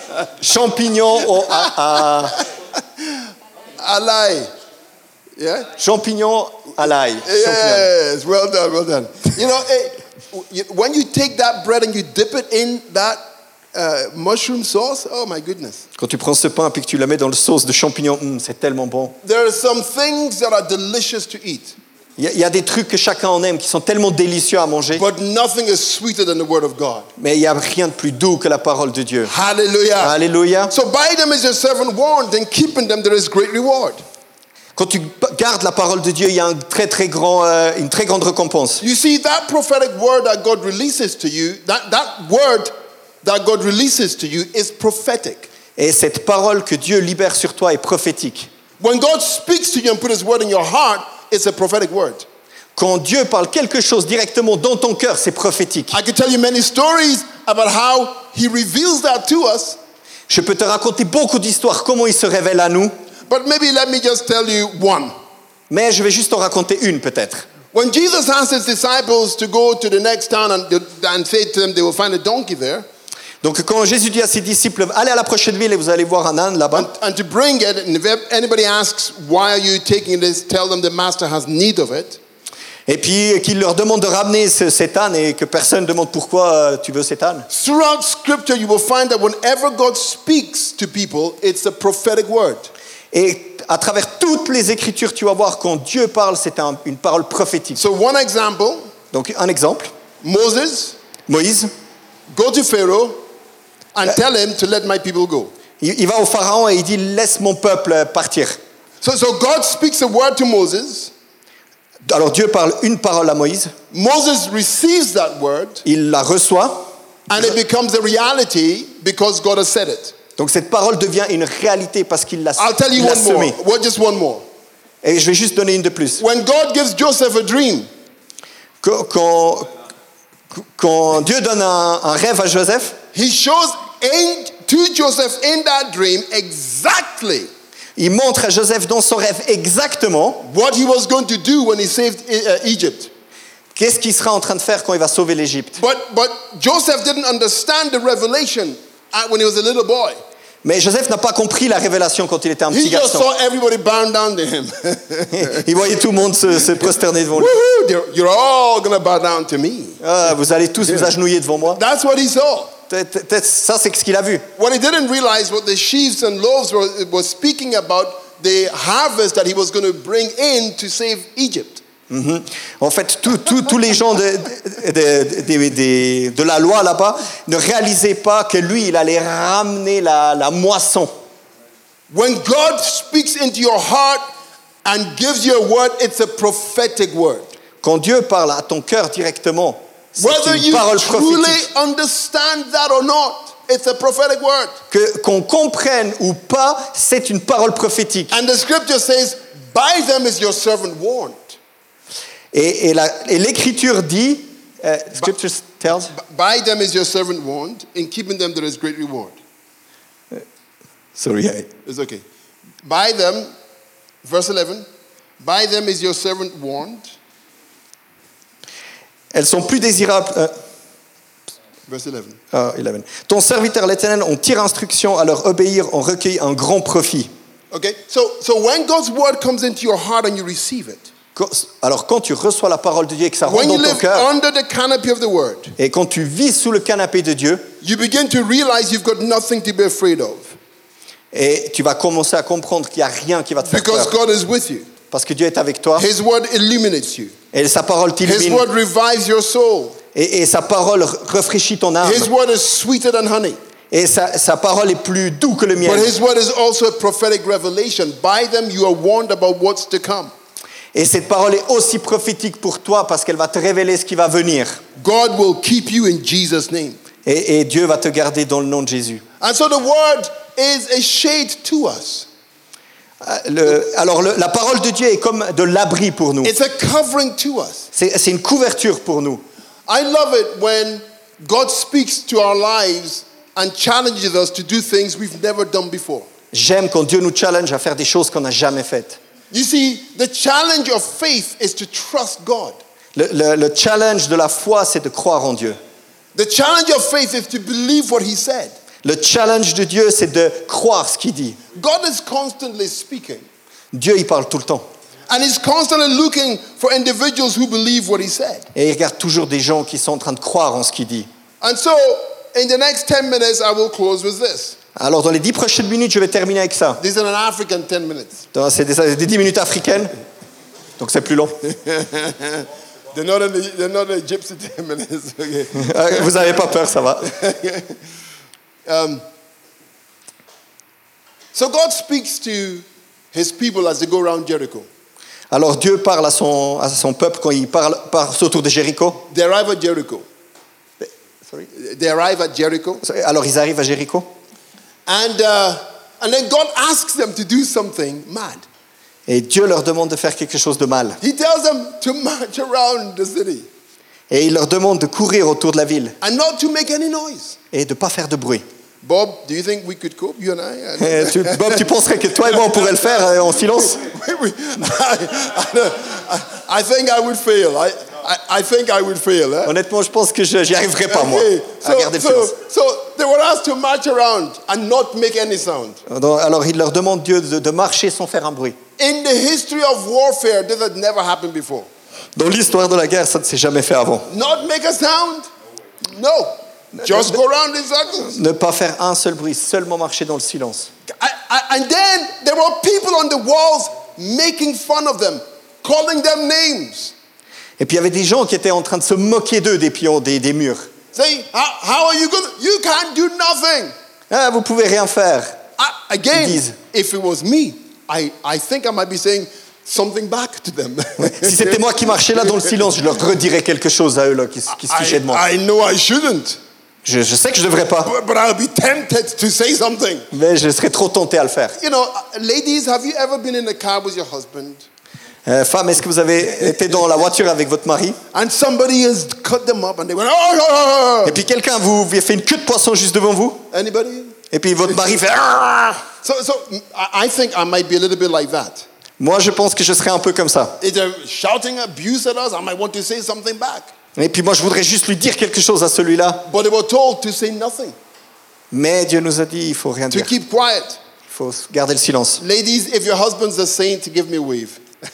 champignon au, à, à- I lie. Yeah? champignon à l'ail. Champignon. Yes, well done, well done. You know, eh, you- when you take that bread and you dip it in that uh, mushroom sauce, oh my goodness. Quand tu prends ce pain et que tu la mets dans le sauce de champignons, hum, c'est tellement bon. There are some things that are delicious to eat, Il y, a- il y a des trucs que chacun en aime qui sont tellement délicieux à manger, but nothing is sweeter than the word of God. mais il n'y a rien de plus doux que la parole de Dieu. Hallelujah. Alléluia. So by them is your servant warned, and keeping them there is great reward. Quand tu gardes la parole de Dieu, il y a un très, très grand, euh, une très grande récompense. You see, that prophetic word that God releases to you, that, that word that God releases to you is prophetic. Et cette parole que Dieu libère sur toi est prophétique. When God speaks to you and put His word in your heart, it's a prophetic word. Quand Dieu parle quelque chose directement dans ton cœur, c'est prophétique. I could tell you many stories about how He reveals that to us. Je peux te raconter beaucoup d'histoires, comment il se révèle à nous, But maybe let me just tell you one. mais je vais juste en raconter une peut-être. When Jesus asked His disciples to go to the next town and, and say to them they will find a donkey there, Donc quand Jésus dit à ses disciples, allez à la prochaine ville et vous allez voir un âne là-bas. and, and to bring it, and if anybody asks, why are you taking this, tell them the master has need of it. Et puis qu'il leur demande de ramener ce, cet âne et que personne ne demande pourquoi euh, tu veux cet âne. Throughout Scripture, you will find that whenever God speaks to people, it's a prophetic word. Et à travers toutes les Écritures, tu vas voir quand Dieu parle, c'est un- une parole prophétique. So one example, Donc un exemple, Moses, Moïse, go to Pharaoh and tell him to let my people go. il, il va au Pharaon et il dit laisse mon peuple partir. So, so God speaks a word to Moses. Alors Dieu parle une parole à Moïse, Moses receives that word, il la reçoit, and it becomes a reality because God has said it. donc cette parole devient une réalité parce qu'il l'a, I'll tell you il l'a one more. semée. Well, just one more. Et je vais juste donner une de plus. When God gives Joseph a dream, Quand, quand, quand Dieu donne un, un rêve à Joseph, He shows in, to Joseph in that dream exactly il montre à Joseph dans son rêve exactement what he was going to do when he saved uh, Egypt. qu'est-ce qu'il sera en train de faire quand il va sauver l'Égypte. But, but Joseph didn't understand the revelation uh, when he was a little boy. Mais Joseph n'a pas compris la révélation quand il était un petit He just garçon. saw everybody bow down to him. Il voyait tout le monde se, se prosterner devant lui. Woohoo, you're- you're all going to bow down to me. Ah, vous allez tous vous agenouiller devant moi. That's what he saw. Peut-être- peut-être ça, c'est ce qu'il a vu. What he didn't realize what the sheaves and loaves were, was speaking about the harvest that he was going to bring in to save Egypt. Mhm. En fait, tous tous- tous les gens de, de, de- de- de- de la loi là-bas ne réalisaient pas que lui, il allait ramener la, la moisson. When God speaks into your heart and gives you a word, it's a prophetic word. Quand Dieu parle à ton cœur directement, c'est Whether une you parole truly prophétique. understand that or not, it's a prophetic word. Que, qu'on comprenne ou pas, c'est une parole prophétique. And the scripture says, by them is your servant warned. Et, et, la- et l'Écriture dit, euh, Scripture tells, By them is your servant warned. In keeping them there is great reward. sorry, I- It's okay. By them, verse eleven, by them is your servant warned. elles sont plus désirables. euh, Verse eleven. ah, eleven. Ton serviteur l'Éternel, on tire instruction à leur obéir, on recueille un grand profit. Okay, so so when God's word comes into your heart and you receive it, Quand- Alors quand tu reçois la parole de Dieu et que ça rentre when you dans ton live cœur, under the canopy of the word, et quand tu vis sous le canapé de Dieu, you begin to realize you've got nothing to be afraid of et tu vas commencer à comprendre qu'il n'y a rien qui va te faire because peur. God is with you. Parce que Dieu est avec toi, His word illuminates you. et sa parole His t'illumine, word revives your soul. et, et sa parole rafraîchit ton âme, His word is sweeter than honey. et sa, sa parole est plus doux que le But miel. his word is also a prophetic revelation. By them you are warned about what's to come. Et cette parole est aussi prophétique pour toi parce qu'elle va te révéler ce qui va venir. God will keep you in Jesus' name. Et, et Dieu va te garder dans le nom de Jésus. And so the word is a shade to us. Euh, le- alors le- la parole de Dieu est comme de l'abri pour nous. It's a covering to us. C'est c'est une couverture pour nous. I love it when God speaks to our lives and challenges us to do things we've never done before. J'aime quand Dieu nous challenge à faire des choses qu'on n'a jamais faites. You see, the challenge of faith is to trust God. Le, le- le challenge de la foi, c'est de croire en Dieu. The challenge of faith is to believe what he said. Le challenge de Dieu, c'est de croire ce qu'il dit. God is constantly speaking. Dieu, il parle tout le temps. And he's constantly looking for individuals who believe what he said. Et il regarde toujours des gens qui sont en train de croire en ce qu'il dit. And so, in the next ten minutes, I will close with this. Alors dans les dix prochaines minutes, je vais terminer avec ça. These are an African ten minutes. Donc, C'est des, des dix minutes africaines, donc c'est plus long. They're not in the, they're not in the gypsy ten minutes. Okay. Euh, Vous n'avez pas peur, ça va. Um, so God speaks to his people as they go around Jericho. Alors Dieu parle à son, à son peuple quand il parle, passe autour de Jéricho. They arrive at Jericho. Sorry. They arrive at Jericho. Alors ils arrivent à Jéricho. And, uh, and then God asks them to do something mad. Et Dieu leur demande de faire quelque chose de mal. He tells them to march around the city Et il leur demande de courir autour de la ville and not to make any noise. et de ne pas faire de bruit. Bob, do you think we could cope, you and I? Et tu, Bob, tu penserais que toi et moi on pourrait le faire euh, en silence? We- we- I, I, I think I would fail. I, I, I think I would fail. Eh? Honnêtement, je pense que je n'y arriverai pas, moi, Okay. à garder le So, silence. so, so they were asked to march around and not make any sound. Donc, alors il leur demande Dieu de, de marcher sans faire un bruit. In the history of warfare, this had never happened before. Dans l'histoire de la guerre, ça ne s'est jamais fait avant. Not make a sound? No. Just go around in circles. Ne pas faire un seul bruit, seulement marcher dans le silence. I, I, and then there were people on the walls making fun of them, calling them names. Et puis il y avait des gens qui étaient en train de se moquer d'eux des pions, des, des murs. Saying, how, how are you going to, you can't do nothing. Ah, vous pouvez rien faire. I, again, Ils disent. if it was me, I, I think I might be saying something back to them. Si c'était moi qui marchais là dans le silence, je leur redirais quelque chose à eux là, qui, se- qui se fichaient de moi. I, I know I shouldn't, Je, je sais que je ne devrais pas, but, but I'll be tempted to say something. mais je serais trop tenté à le faire. You know, uh, ladies, have you ever been in a car with your husband Euh, femme, est-ce que vous avez été dans la voiture avec votre mari and somebody has cut them up and they went, oh, oh, oh, oh. et puis quelqu'un vous vous a fait une queue de poisson juste devant vous Anybody? et puis votre mari fait ah. So, so I I think I might be a little bit like that. Moi je pense que je serais un peu comme ça. If they're shouting abuse at us, I might want to say something back. Et puis moi je voudrais juste lui dire quelque chose à celui-là, But they were told to say nothing, mais Dieu nous a dit il faut rien to dire, keep quiet. il faut garder le silence. Ladies, if your husband's a saint, give me a wave.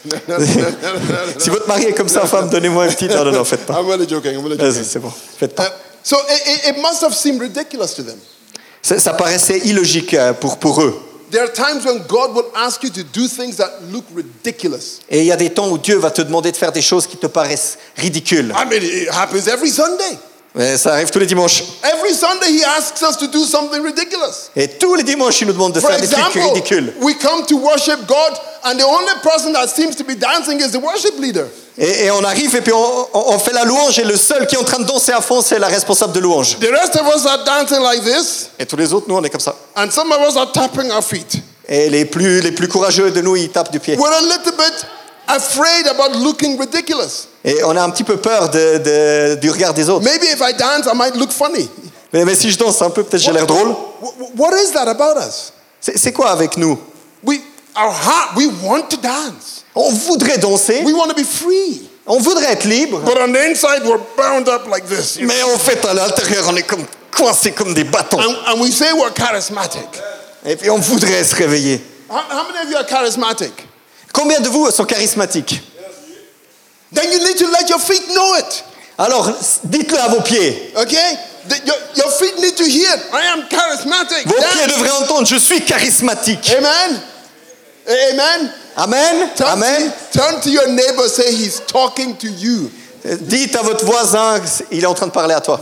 Si votre mari est comme ça, femme, donnez-moi un petit. Non, non, non, faites pas. I'm really joking. I'm really Vas-y, joking. c'est bon, faites Uh, pas. so it, it, it must have seemed ridiculous to them. Ça, ça paraissait illogique euh, pour, pour eux. There are times when God will ask you to do things that look ridiculous. Et il y a des temps où Dieu va te demander de faire des choses qui te paraissent ridicules. I mean, it happens every Sunday. Mais ça arrive tous les dimanches. Every Sunday, He asks us to do something ridiculous. Et tous les dimanches, il nous demande de For faire des trucs example, ridicules. we come to worship God, and the only person that seems to be dancing is the worship leader. Et, et on arrive et puis on, on- on fait la louange et le seul qui est en train de danser à fond, c'est la responsable de louange. The rest of us are dancing like this, Et tous les autres, nous, on est comme ça. and some of us are tapping our feet. Et les plus, les plus courageux de nous, ils tapent du pied. We're a little bit afraid about looking ridiculous. Et on a un petit peu peur de, de- du regard des autres. Maybe if I dance, I might look funny. Mais, mais si je danse un peu, peut-être j'ai l'air drôle. Wh- wh- What is that about us? C'est c'est quoi avec nous? We, our heart, we want to dance. On voudrait danser, We want to be free. on voudrait être libre, But on the inside, we're bound up like this. mais en fait, à l'intérieur, on est comme coincés comme des bâtons. And, and we say we're charismatic. Et puis on voudrait se réveiller. How, how many of you are charismatic? Combien de vous sont charismatiques? Then you need to let your feet know it. Alors, dites-le à vos pieds. Okay? The- your, your feet need to hear, I am charismatic. Vos Dance. pieds devraient entendre, je suis charismatique. Amen. Amen. Amen. Turn, Amen. turn to your neighbor, say he's talking to you. Euh, Dites à votre voisin, il est en train de parler à toi.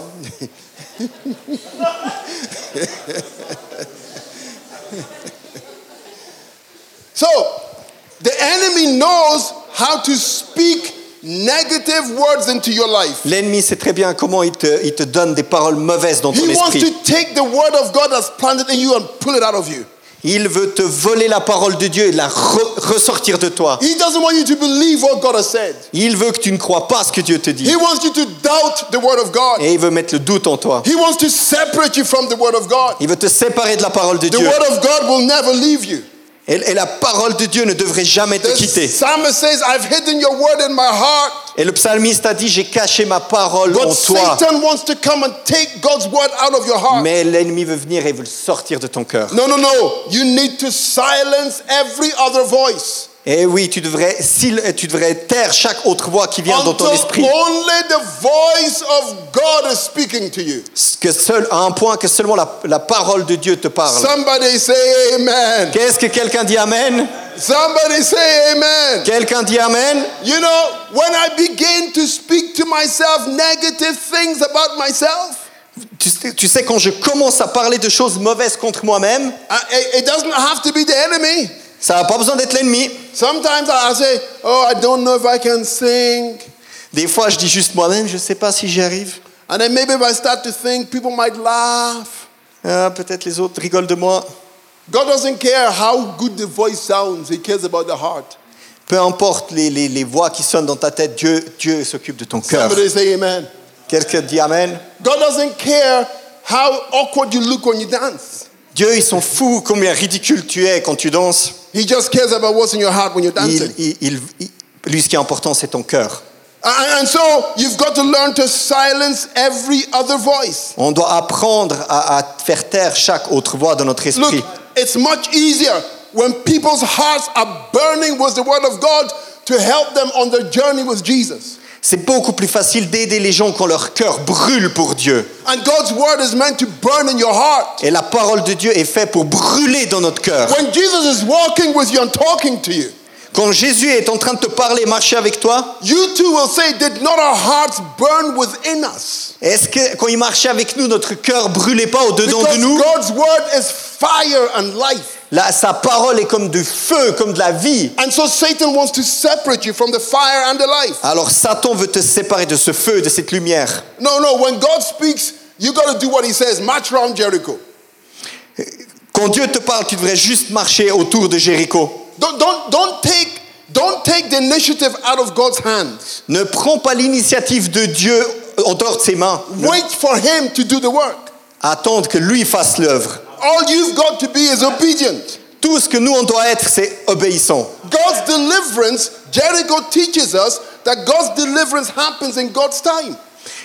So, the enemy knows how to speak negative words into your life. L'ennemi sait très bien comment il te, il te donne des paroles mauvaises dans ton He wants esprit. to take the word of God that's planted in you and pull it out of you. Il veut te voler la parole de Dieu et la re- ressortir de toi. He doesn't want you to believe what God has said. Il veut que tu ne crois pas ce que Dieu te dit. He wants you to doubt the word of God. Et il veut mettre le doute en toi. He wants to separate you from the word of God. Il veut te séparer de la parole de The Dieu. word of God will never leave you. Et, et la parole de Dieu ne devrait jamais te The quitter. psalmist says, I've hidden your word in my heart. Et le psalmiste a dit, j'ai caché ma parole But en toi. Satan wants to come and take God's word out of your heart. Mais l'ennemi veut venir et veut le sortir de ton cœur. No, no, no. You need to silence every other voice. Et oui, tu devrais, sil- tu devrais taire chaque autre voix qui vient dans ton Until esprit. only the voice of God is speaking to you. Que seul, à un point que seulement la, la parole de Dieu te parle. Somebody say amen. Qu'est-ce que quelqu'un dit Amen? Somebody say amen. Quelqu'un dit Amen? You know, when I begin to speak to myself negative things about myself, Tu sais, tu sais, quand je commence à parler de choses mauvaises contre moi-même, I- it it doesn't have to be the enemy. Ça n'a pas besoin d'être l'ennemi. Sometimes I say, oh, I don't know if I can sing. Des fois, je dis juste moi-même, je ne sais pas si j'y arrive. And then maybe if I start to think, people might laugh. Ah, peut-être les autres rigolent de moi. God doesn't care how good the voice sounds. He cares about the heart. Peu importe les, les, les voix qui sonnent dans ta tête, Dieu, Dieu s'occupe de ton cœur. Somebody say amen. Quelqu'un dit Amen. God doesn't care how awkward you look when you dance. Dieu, ils sont fous combien ridicule tu es quand tu danses. He just cares about what's in your heart when you're dancing. Il, il, il, il, lui, ce qui est important, c'est ton cœur. And, and so you've got to learn to silence every other voice. On doit apprendre à, à faire taire chaque autre voix de notre esprit. Look, it's much easier when people's hearts are burning with the word of God to help them on their journey with Jesus. C'est beaucoup plus facile d'aider les gens quand leur cœur brûle pour Dieu. And God's word is meant to burn in your heart. Et la parole de Dieu est faite pour brûler dans notre cœur. When Jesus is walking with you and talking to you, Quand Jésus est en train de te parler, marcher avec toi, you too will say, did not our hearts burn within us? est-ce que quand il marchait avec nous, notre cœur brûlait pas au-dedans Because de nous? God's word is fire and life. Là, sa parole est comme du feu, comme de la vie. And so Satan wants to separate you from the fire and the life. Alors Satan veut te séparer de ce feu, de cette lumière. No, no, when God speaks, you got to do what he says. March around Jericho. Quand Dieu te parle, tu devrais juste marcher autour de Jéricho. Don't, don't, don't take, don't take the initiative out of God's hands. Ne prends pas l'initiative de Dieu en dehors de ses mains. Ne- Wait for him to do the work. Attendre que lui fasse l'œuvre. All you've got to be is obedient. Tout ce que nous, on doit être, c'est obéissant. God's deliverance, Jericho teaches us that God's deliverance happens in God's time.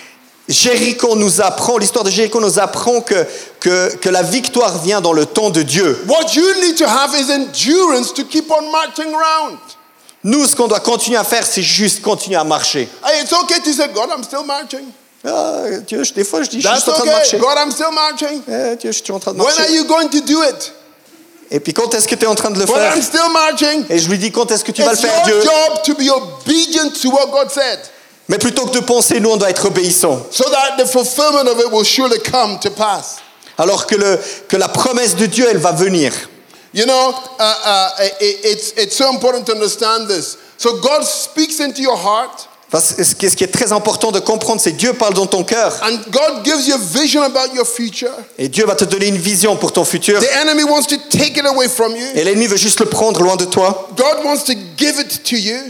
Jéricho nous apprend, l'histoire de Jéricho nous apprend que, que, que la victoire vient dans le temps de Dieu. What you need to have is endurance to keep on marching around. Nous, ce qu'on doit continuer à faire, c'est juste continuer à marcher. Hey, it's okay to say, God, I'm still marching. Ah, Dieu, je- des fois, je dis, je suis That's juste en train de okay. marcher. God, I'm still marching. Eh, Dieu, je suis en train de When are marcher. you going to do it? Et puis, quand est-ce que tu es en train de le Well, faire? I'm still marching. Et je lui dis, quand est-ce que tu vas le It's faire, your Dieu? job to be obedient to what God said, Mais plutôt que de penser, nous, on doit être obéissants. so that the fulfillment of it will surely come to pass. Alors que, le, que la promesse de Dieu, elle va venir. You know, uh, uh, it, it's, it's so important to understand this. So God speaks into your heart, Parce que ce qui ce qui est très important de comprendre, c'est que Dieu parle dans ton cœur. and God gives you a vision about your future. Et Dieu va te donner une vision pour ton futur. The enemy wants to take it away from you. Et l'ennemi veut juste le prendre loin de toi. God wants to give it to you.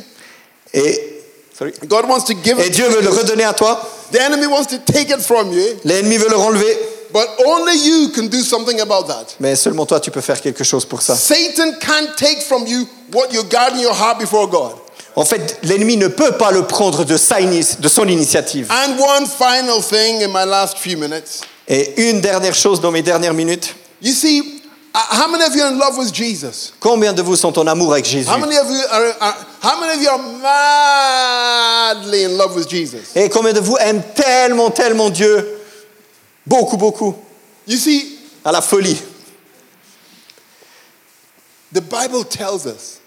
Et, sorry. God wants to give Et it Dieu to veut le you. redonner à toi. The enemy wants to take it from you, L'ennemi veut le renlever. but only you can do something about that. Mais seulement toi, tu peux faire quelque chose pour ça. Satan can't take from you what you guard in your heart before God. En fait, l'ennemi ne peut pas le prendre de, sa ini- de son initiative. And one final thing in my last few minutes. Et une dernière chose dans mes dernières minutes. You see, uh, how many of you are in love with Jesus? Combien de vous sont en amour avec Jésus? How many of you are, are how many of you are madly in love with Jesus? Et combien de vous aiment tellement, tellement Dieu? Beaucoup, beaucoup. You see, À la folie. the Bible tells us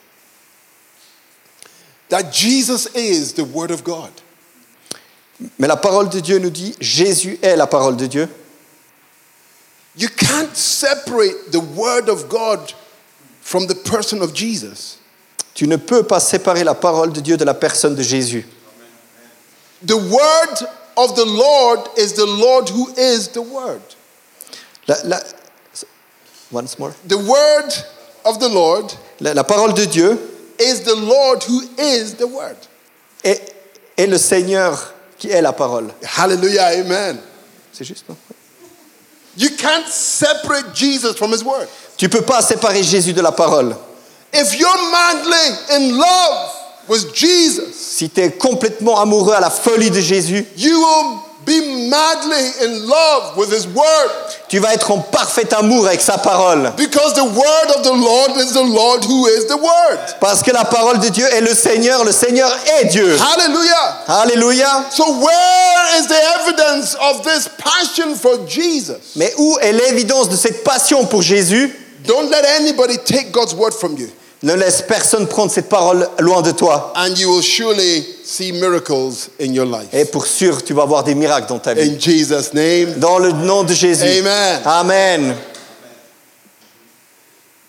that Jesus is the Word of God. Mais la parole de Dieu nous dit, Jésus est la parole de Dieu. You can't separate the Word of God from the person of Jesus. Tu ne peux pas séparer la parole de Dieu de la personne de Jésus. The Word of the Lord is the Lord who is the Word. La, la- once more. The Word of the Lord La, la parole de Dieu is the Lord who is the Word. est, est le Seigneur qui est la parole. Hallelujah, amen. C'est juste, non? You can't separate Jesus from His Word. Tu peux pas séparer Jésus de la parole. If you're madly in love with Jesus, Si tu es complètement amoureux à la folie de Jésus, you will be madly in love with His Word. tu vas être en parfait amour avec sa parole. Because the Word of the Lord is the Lord who is the Word. Parce que la parole de Dieu est le Seigneur, le Seigneur est Dieu. Hallelujah. Alléluia. So where is the evidence of this passion for Jesus? Mais où est l'évidence de cette passion pour Jésus? Don't let anybody take God's Word from you. Ne laisse personne prendre cette parole loin de toi. And you will surely see miracles in your life. Et pour sûr, tu vas voir des miracles dans ta vie. In Jesus' name. Dans le nom de Jésus. Amen. Amen.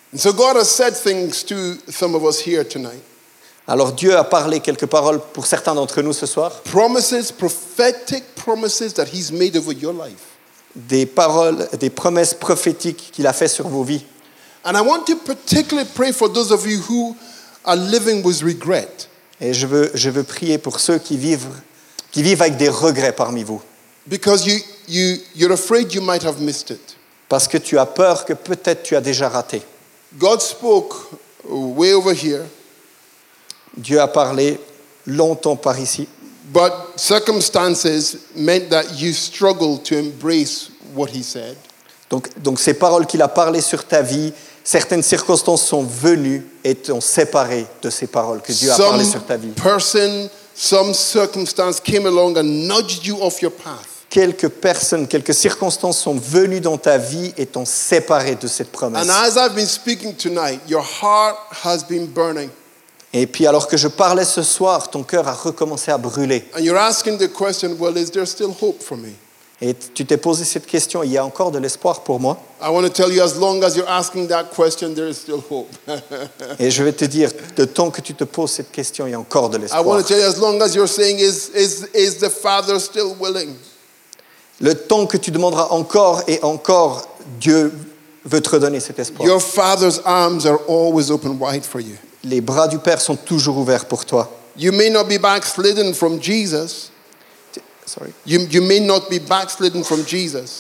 And so God has said things to some of us here tonight. Alors Dieu a parlé quelques paroles pour certains d'entre nous ce soir, Promises, prophetic promises that He's made over your life. des paroles, des promesses prophétiques qu'il a fait sur vos vies. And I want to particularly pray for those of you who are living with regret. Et je veux, je veux prier pour ceux qui vivent, qui vivent avec des regrets parmi vous. Because you, you, you're afraid you might have missed it. Parce que tu as peur que peut-être tu as déjà raté. God spoke way over here, Dieu a parlé longtemps par ici, but circumstances meant that you struggled to embrace what He said. donc, donc ces paroles qu'il a parlé sur ta vie, certaines circonstances sont venues et t'ont séparé de ces paroles que Dieu a parlé sur ta vie. person, some circumstance came along and nudged you off your path. Quelques personnes, quelques circonstances sont venues dans ta vie et t'ont séparé de cette promesse. And as I've been speaking tonight, your heart has been burning. Et puis alors que je parlais ce soir, ton cœur a recommencé à brûler. And you're asking the question, well, is there still hope for me? Et tu t'es posé cette question, il y a encore de l'espoir pour moi? I want to tell you, as long as you're asking that question, there is still hope. Et je vais te dire, de temps que tu te poses cette question, il y a encore de I l'espoir. want to tell you, as long as you're saying, is, is, is the Father still willing? Le temps que tu demanderas encore et encore, Dieu veut te redonner cet espoir. Your Father's arms are always open wide for you. Les bras du Père sont toujours ouverts pour toi. You may not be backslidden from Jesus. Sorry. You, you may not be backslidden from Jesus.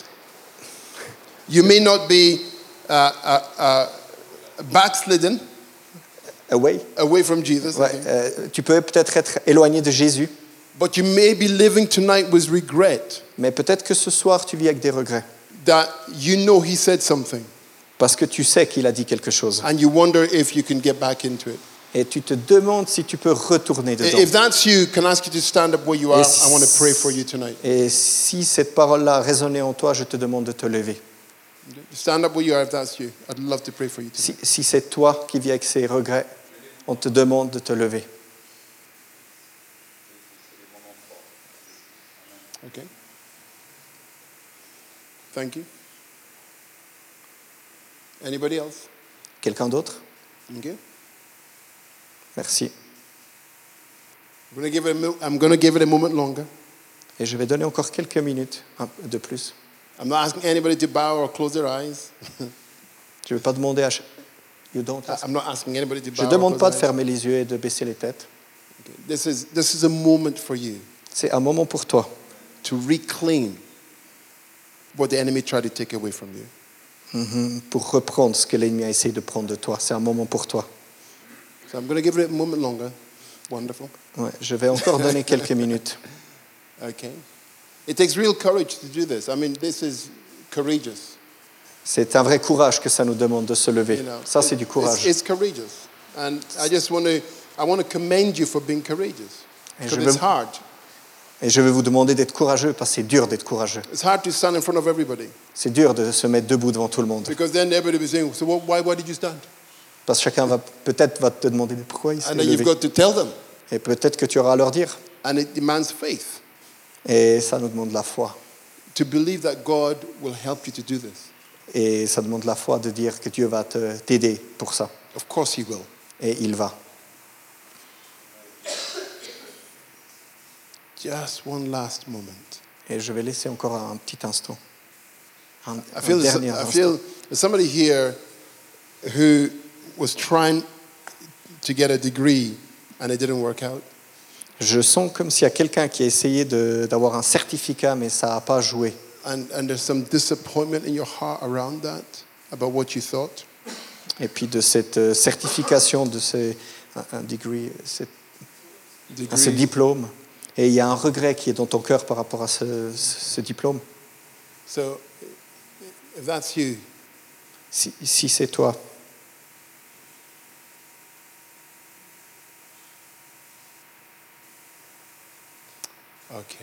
You may not be uh, uh, uh, backslidden Away. away from Jesus. I Ouais, think. euh, tu peux peut-être être éloigné de Jésus, But you may be living tonight with regret mais peut-être que ce soir tu vis avec des regrets. that you know He said something Parce que tu sais qu'il a dit quelque chose. and you wonder if you can get back into it. Et tu te demandes si tu peux retourner dedans. If that's you, can I ask you to stand up where you are? Et I want to pray for you tonight. Et si cette parole-là a résonné en toi, je te demande de te lever. Stand up where you are if that's you. I'd love to pray for you tonight. Si, si c'est toi qui vis avec ces regrets, on te demande de te lever. Okay. Thank you. Anybody else? Quelqu'un d'autre? Okay. Merci. I'm going to give it a, mil- I'm going to give it a moment longer. Et je vais donner encore quelques minutes un peu de plus. I'm not asking anybody to bow or close their eyes. Je ne vais pas demander à... ch- You don't ask. I'm not asking anybody to bow Je ne or demande close pas de their eyes. fermer les yeux et de baisser les têtes. Okay. This is, this is a moment for you C'est un moment pour toi to reclaim what the enemy tried to take away from you. mhm, pour reprendre ce que l'ennemi a essayé de prendre de toi. C'est un moment pour toi. So I'm going to give it a moment longer. Wonderful. Ouais, je vais encore donner quelques minutes. Okay. It takes real courage to do this. I mean, this is courageous. C'est un vrai courage que ça nous demande de se lever. You know, Ça, c'est It- du it's, courage. it's courageous, and I just want to I want to commend you for being courageous. Et Because je it's veux- hard. Et je vais vous demander d'être courageux parce que c'est dur d'être courageux. It's hard to stand in front of everybody C'est dur de se mettre debout devant tout le monde. because then everybody will be saying, "So what, why why did you stand?" Parce que chacun va peut-être va te demander mais pourquoi il s'est And then you've levé. got to tell them, Et peut-être que tu auras à leur dire. and it demands faith Et ça nous demande la foi. to believe that God will help you to do this. Et ça demande la foi de dire que Dieu va te- t'aider pour ça. Of course, He will. Et il va. Just one last moment. Et je vais laisser encore un petit instant. Un, I un feel, dernier I instant. feel there's somebody here who was trying to get a degree and it didn't work out. Je sens comme s'il y a quelqu'un qui a essayé de- d'avoir un certificat, mais ça n'a pas joué. And, and there's some disappointment in your heart around that, about what you thought. Et puis de cette euh, certification, de ce, un, un degree, cette- à ce Degree. diplôme. Et il y a un regret qui est dans ton cœur par rapport à ce, ce diplôme. So, if that's you, Si, si c'est toi, okay.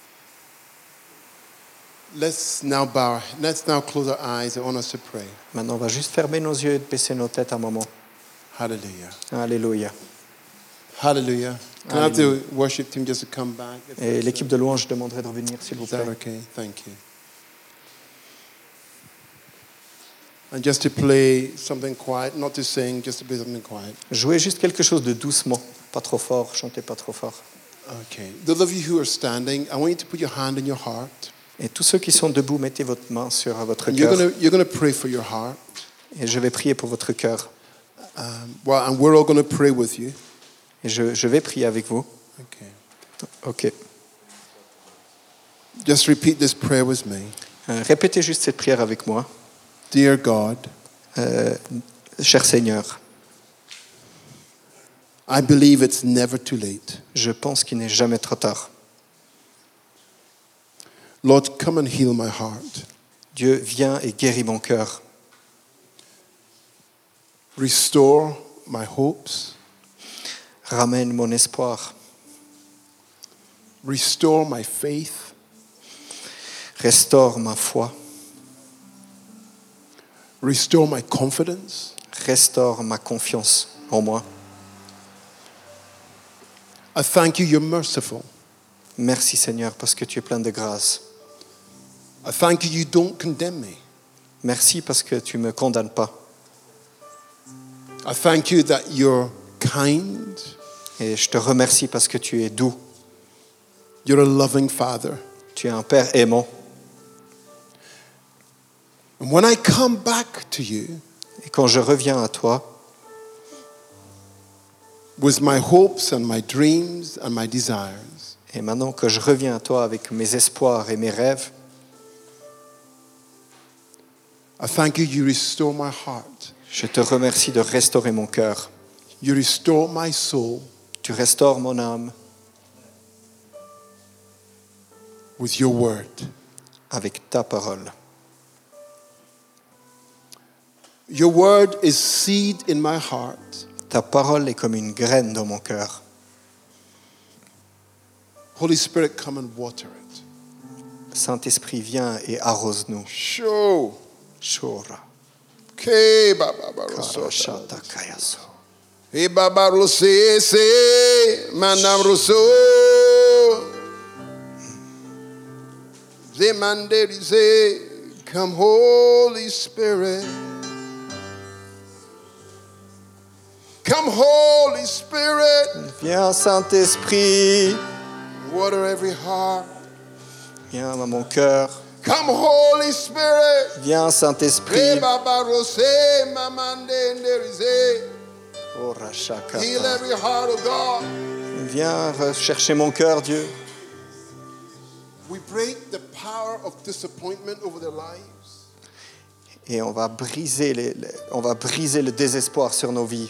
Let's now bow. Let's now close our eyes. I want us to pray. maintenant on va juste fermer nos yeux et baisser nos têtes un moment. Hallelujah. Alléluia. Hallelujah. Can I have the worship team just to come back? If Et that's- l'équipe de louange, je demanderai de revenir, s'il vous Is that plaît. okay? Thank you. And just to play something quiet, not to sing, just to play something quiet. Jouez juste quelque chose de doucement, pas trop fort, chantez pas trop fort. Okay. Those of you who are standing, I want you to put your hand in your heart. Et tous ceux qui sont debout, mettez votre main sur votre And you're cœur. going to you're going to pray for your heart. Et je vais prier pour votre cœur. Um, well, and we're all going to pray with you. Et je, je vais prier avec vous. Okay. Ok. Just repeat this prayer with me. Euh, répétez juste cette prière avec moi. Dear God, Euh, cher Seigneur, I believe it's never too late. je pense qu'il n'est jamais trop tard. Lord, come and heal my heart. Dieu, viens et guéris mon cœur. Restore my hopes. Ramène mon espoir. Restore my faith. Restaure ma foi. Restore my confidence. Restaure ma confiance en moi. I thank you, you're merciful. Merci Seigneur parce que tu es plein de grâce. I thank you, you don't condemn me. Merci parce que tu ne me condamnes pas. I thank you that you're kind. Et je te remercie parce que tu es doux. You're a loving Father. Tu es un Père aimant. And when I come back to you Et quand je reviens à toi, with my hopes and my dreams and my desires, et maintenant que je reviens à toi avec mes espoirs et mes rêves, I thank you, you restore my heart. je te remercie de restaurer mon cœur. You restore my soul Tu restaures mon âme with your word. avec ta parole. Your word is seed in my heart. Ta parole est comme une graine dans mon cœur. Holy Spirit, come and water it. Saint-Esprit, viens et arrose-nous. Show. Shora, Ke baba baroso. karashata kayaso. Hey baba rose se manam roso. Zemande say, come Holy Spirit. Come Holy Spirit. Viens, Saint-Esprit, Water every heart. viens à mon cœur. Come Holy Spirit. Viens, Hey Saint-Esprit. baba rose mamande nderize. Ora shakata. Heal every heart of God. Viens rechercher mon cœur, Dieu. We break the power of disappointment over their lives. Et on va briser, les, les- on va briser le désespoir sur nos vies.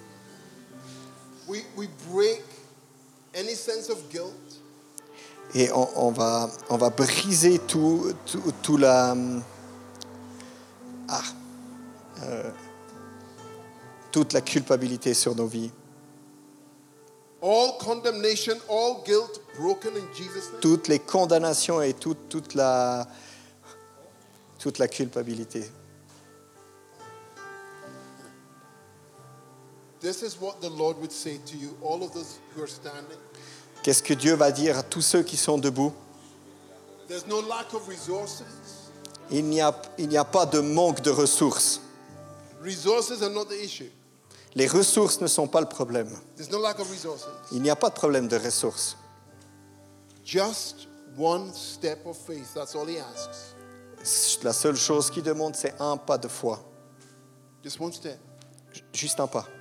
We, we break any sense of guilt. Et on, on va, on va briser tout, tout, tout la, ah, euh, toute la culpabilité sur nos vies. All condemnation, all guilt broken in Jesus' name. Toutes les condamnations et toute, toute, la, toute la culpabilité. This is what the Lord would say to you, all of those who are standing. Qu'est-ce que Dieu va dire à tous ceux qui sont debout? There's no lack of resources. Il n'y a, il n'y a pas de manque de ressources. Resources are not the issue. Les ressources ne sont pas le problème. There's no lack of resources. Il n'y a pas de problème de ressources. Just one step of faith. That's all he asks. La seule chose qu'il demande, c'est un pas de foi. Just one step. Juste un pas.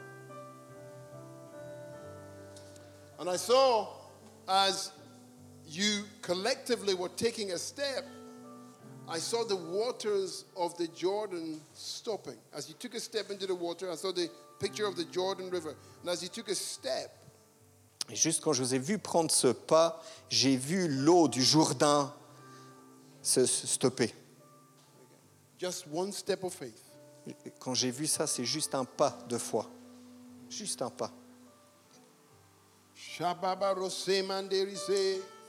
And I saw as you collectively were taking a step, I saw the waters of the Jordan stopping. As you took a step into the water, I saw the picture of the Jordan River. And as you took a step, Et juste quand je vous ai vu prendre ce pas, j'ai vu l'eau du Jourdain se, se stopper. just one step of faith. Quand j'ai vu ça, c'est juste un pas de foi. Juste un pas. Shababa Rose Manderise.